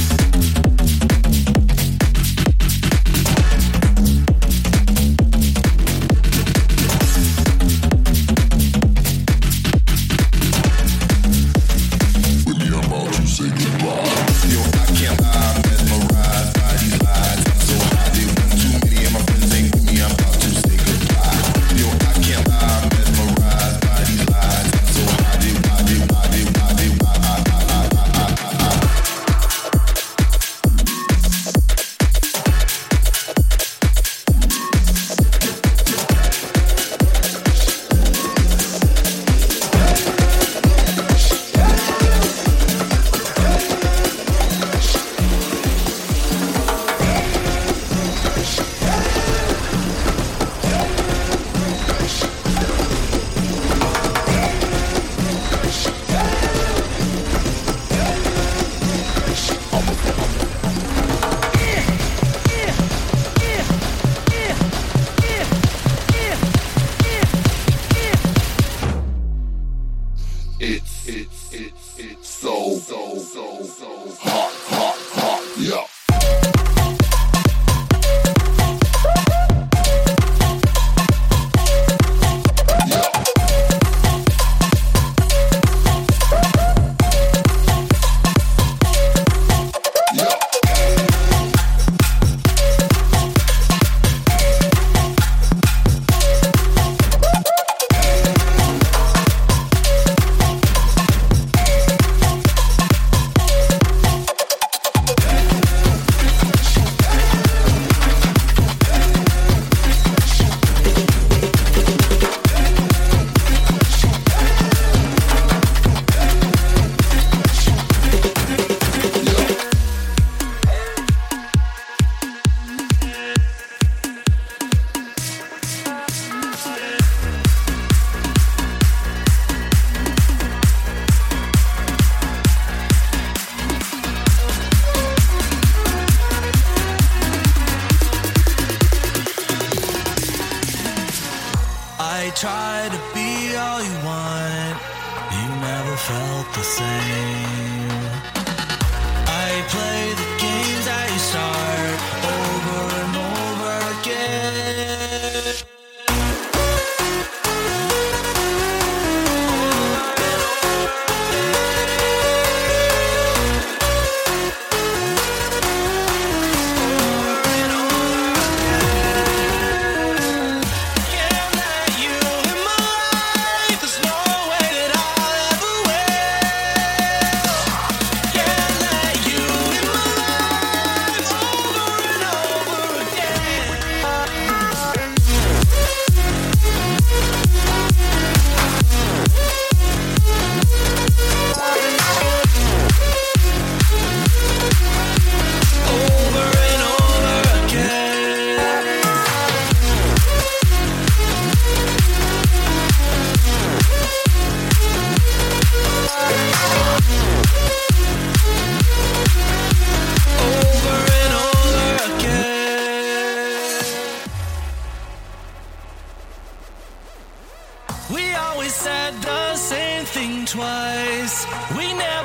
With me, I'm about to say goodbye. Yo, I can't lie, I'm mesmerized by these lies. I'm so high, did one too many of my friends ain't with me, I'm about to say goodbye. Yo, I can't lie, I'm mesmerized by these lies. I'm so high, did why, did why, did why, did why, I, I, I, I, I, I. It's, it's, it's, it's so, so, so, so hot, hot, hot, yeah. felt the same. I play the games I start over and over again. We always said the same thing twice. We never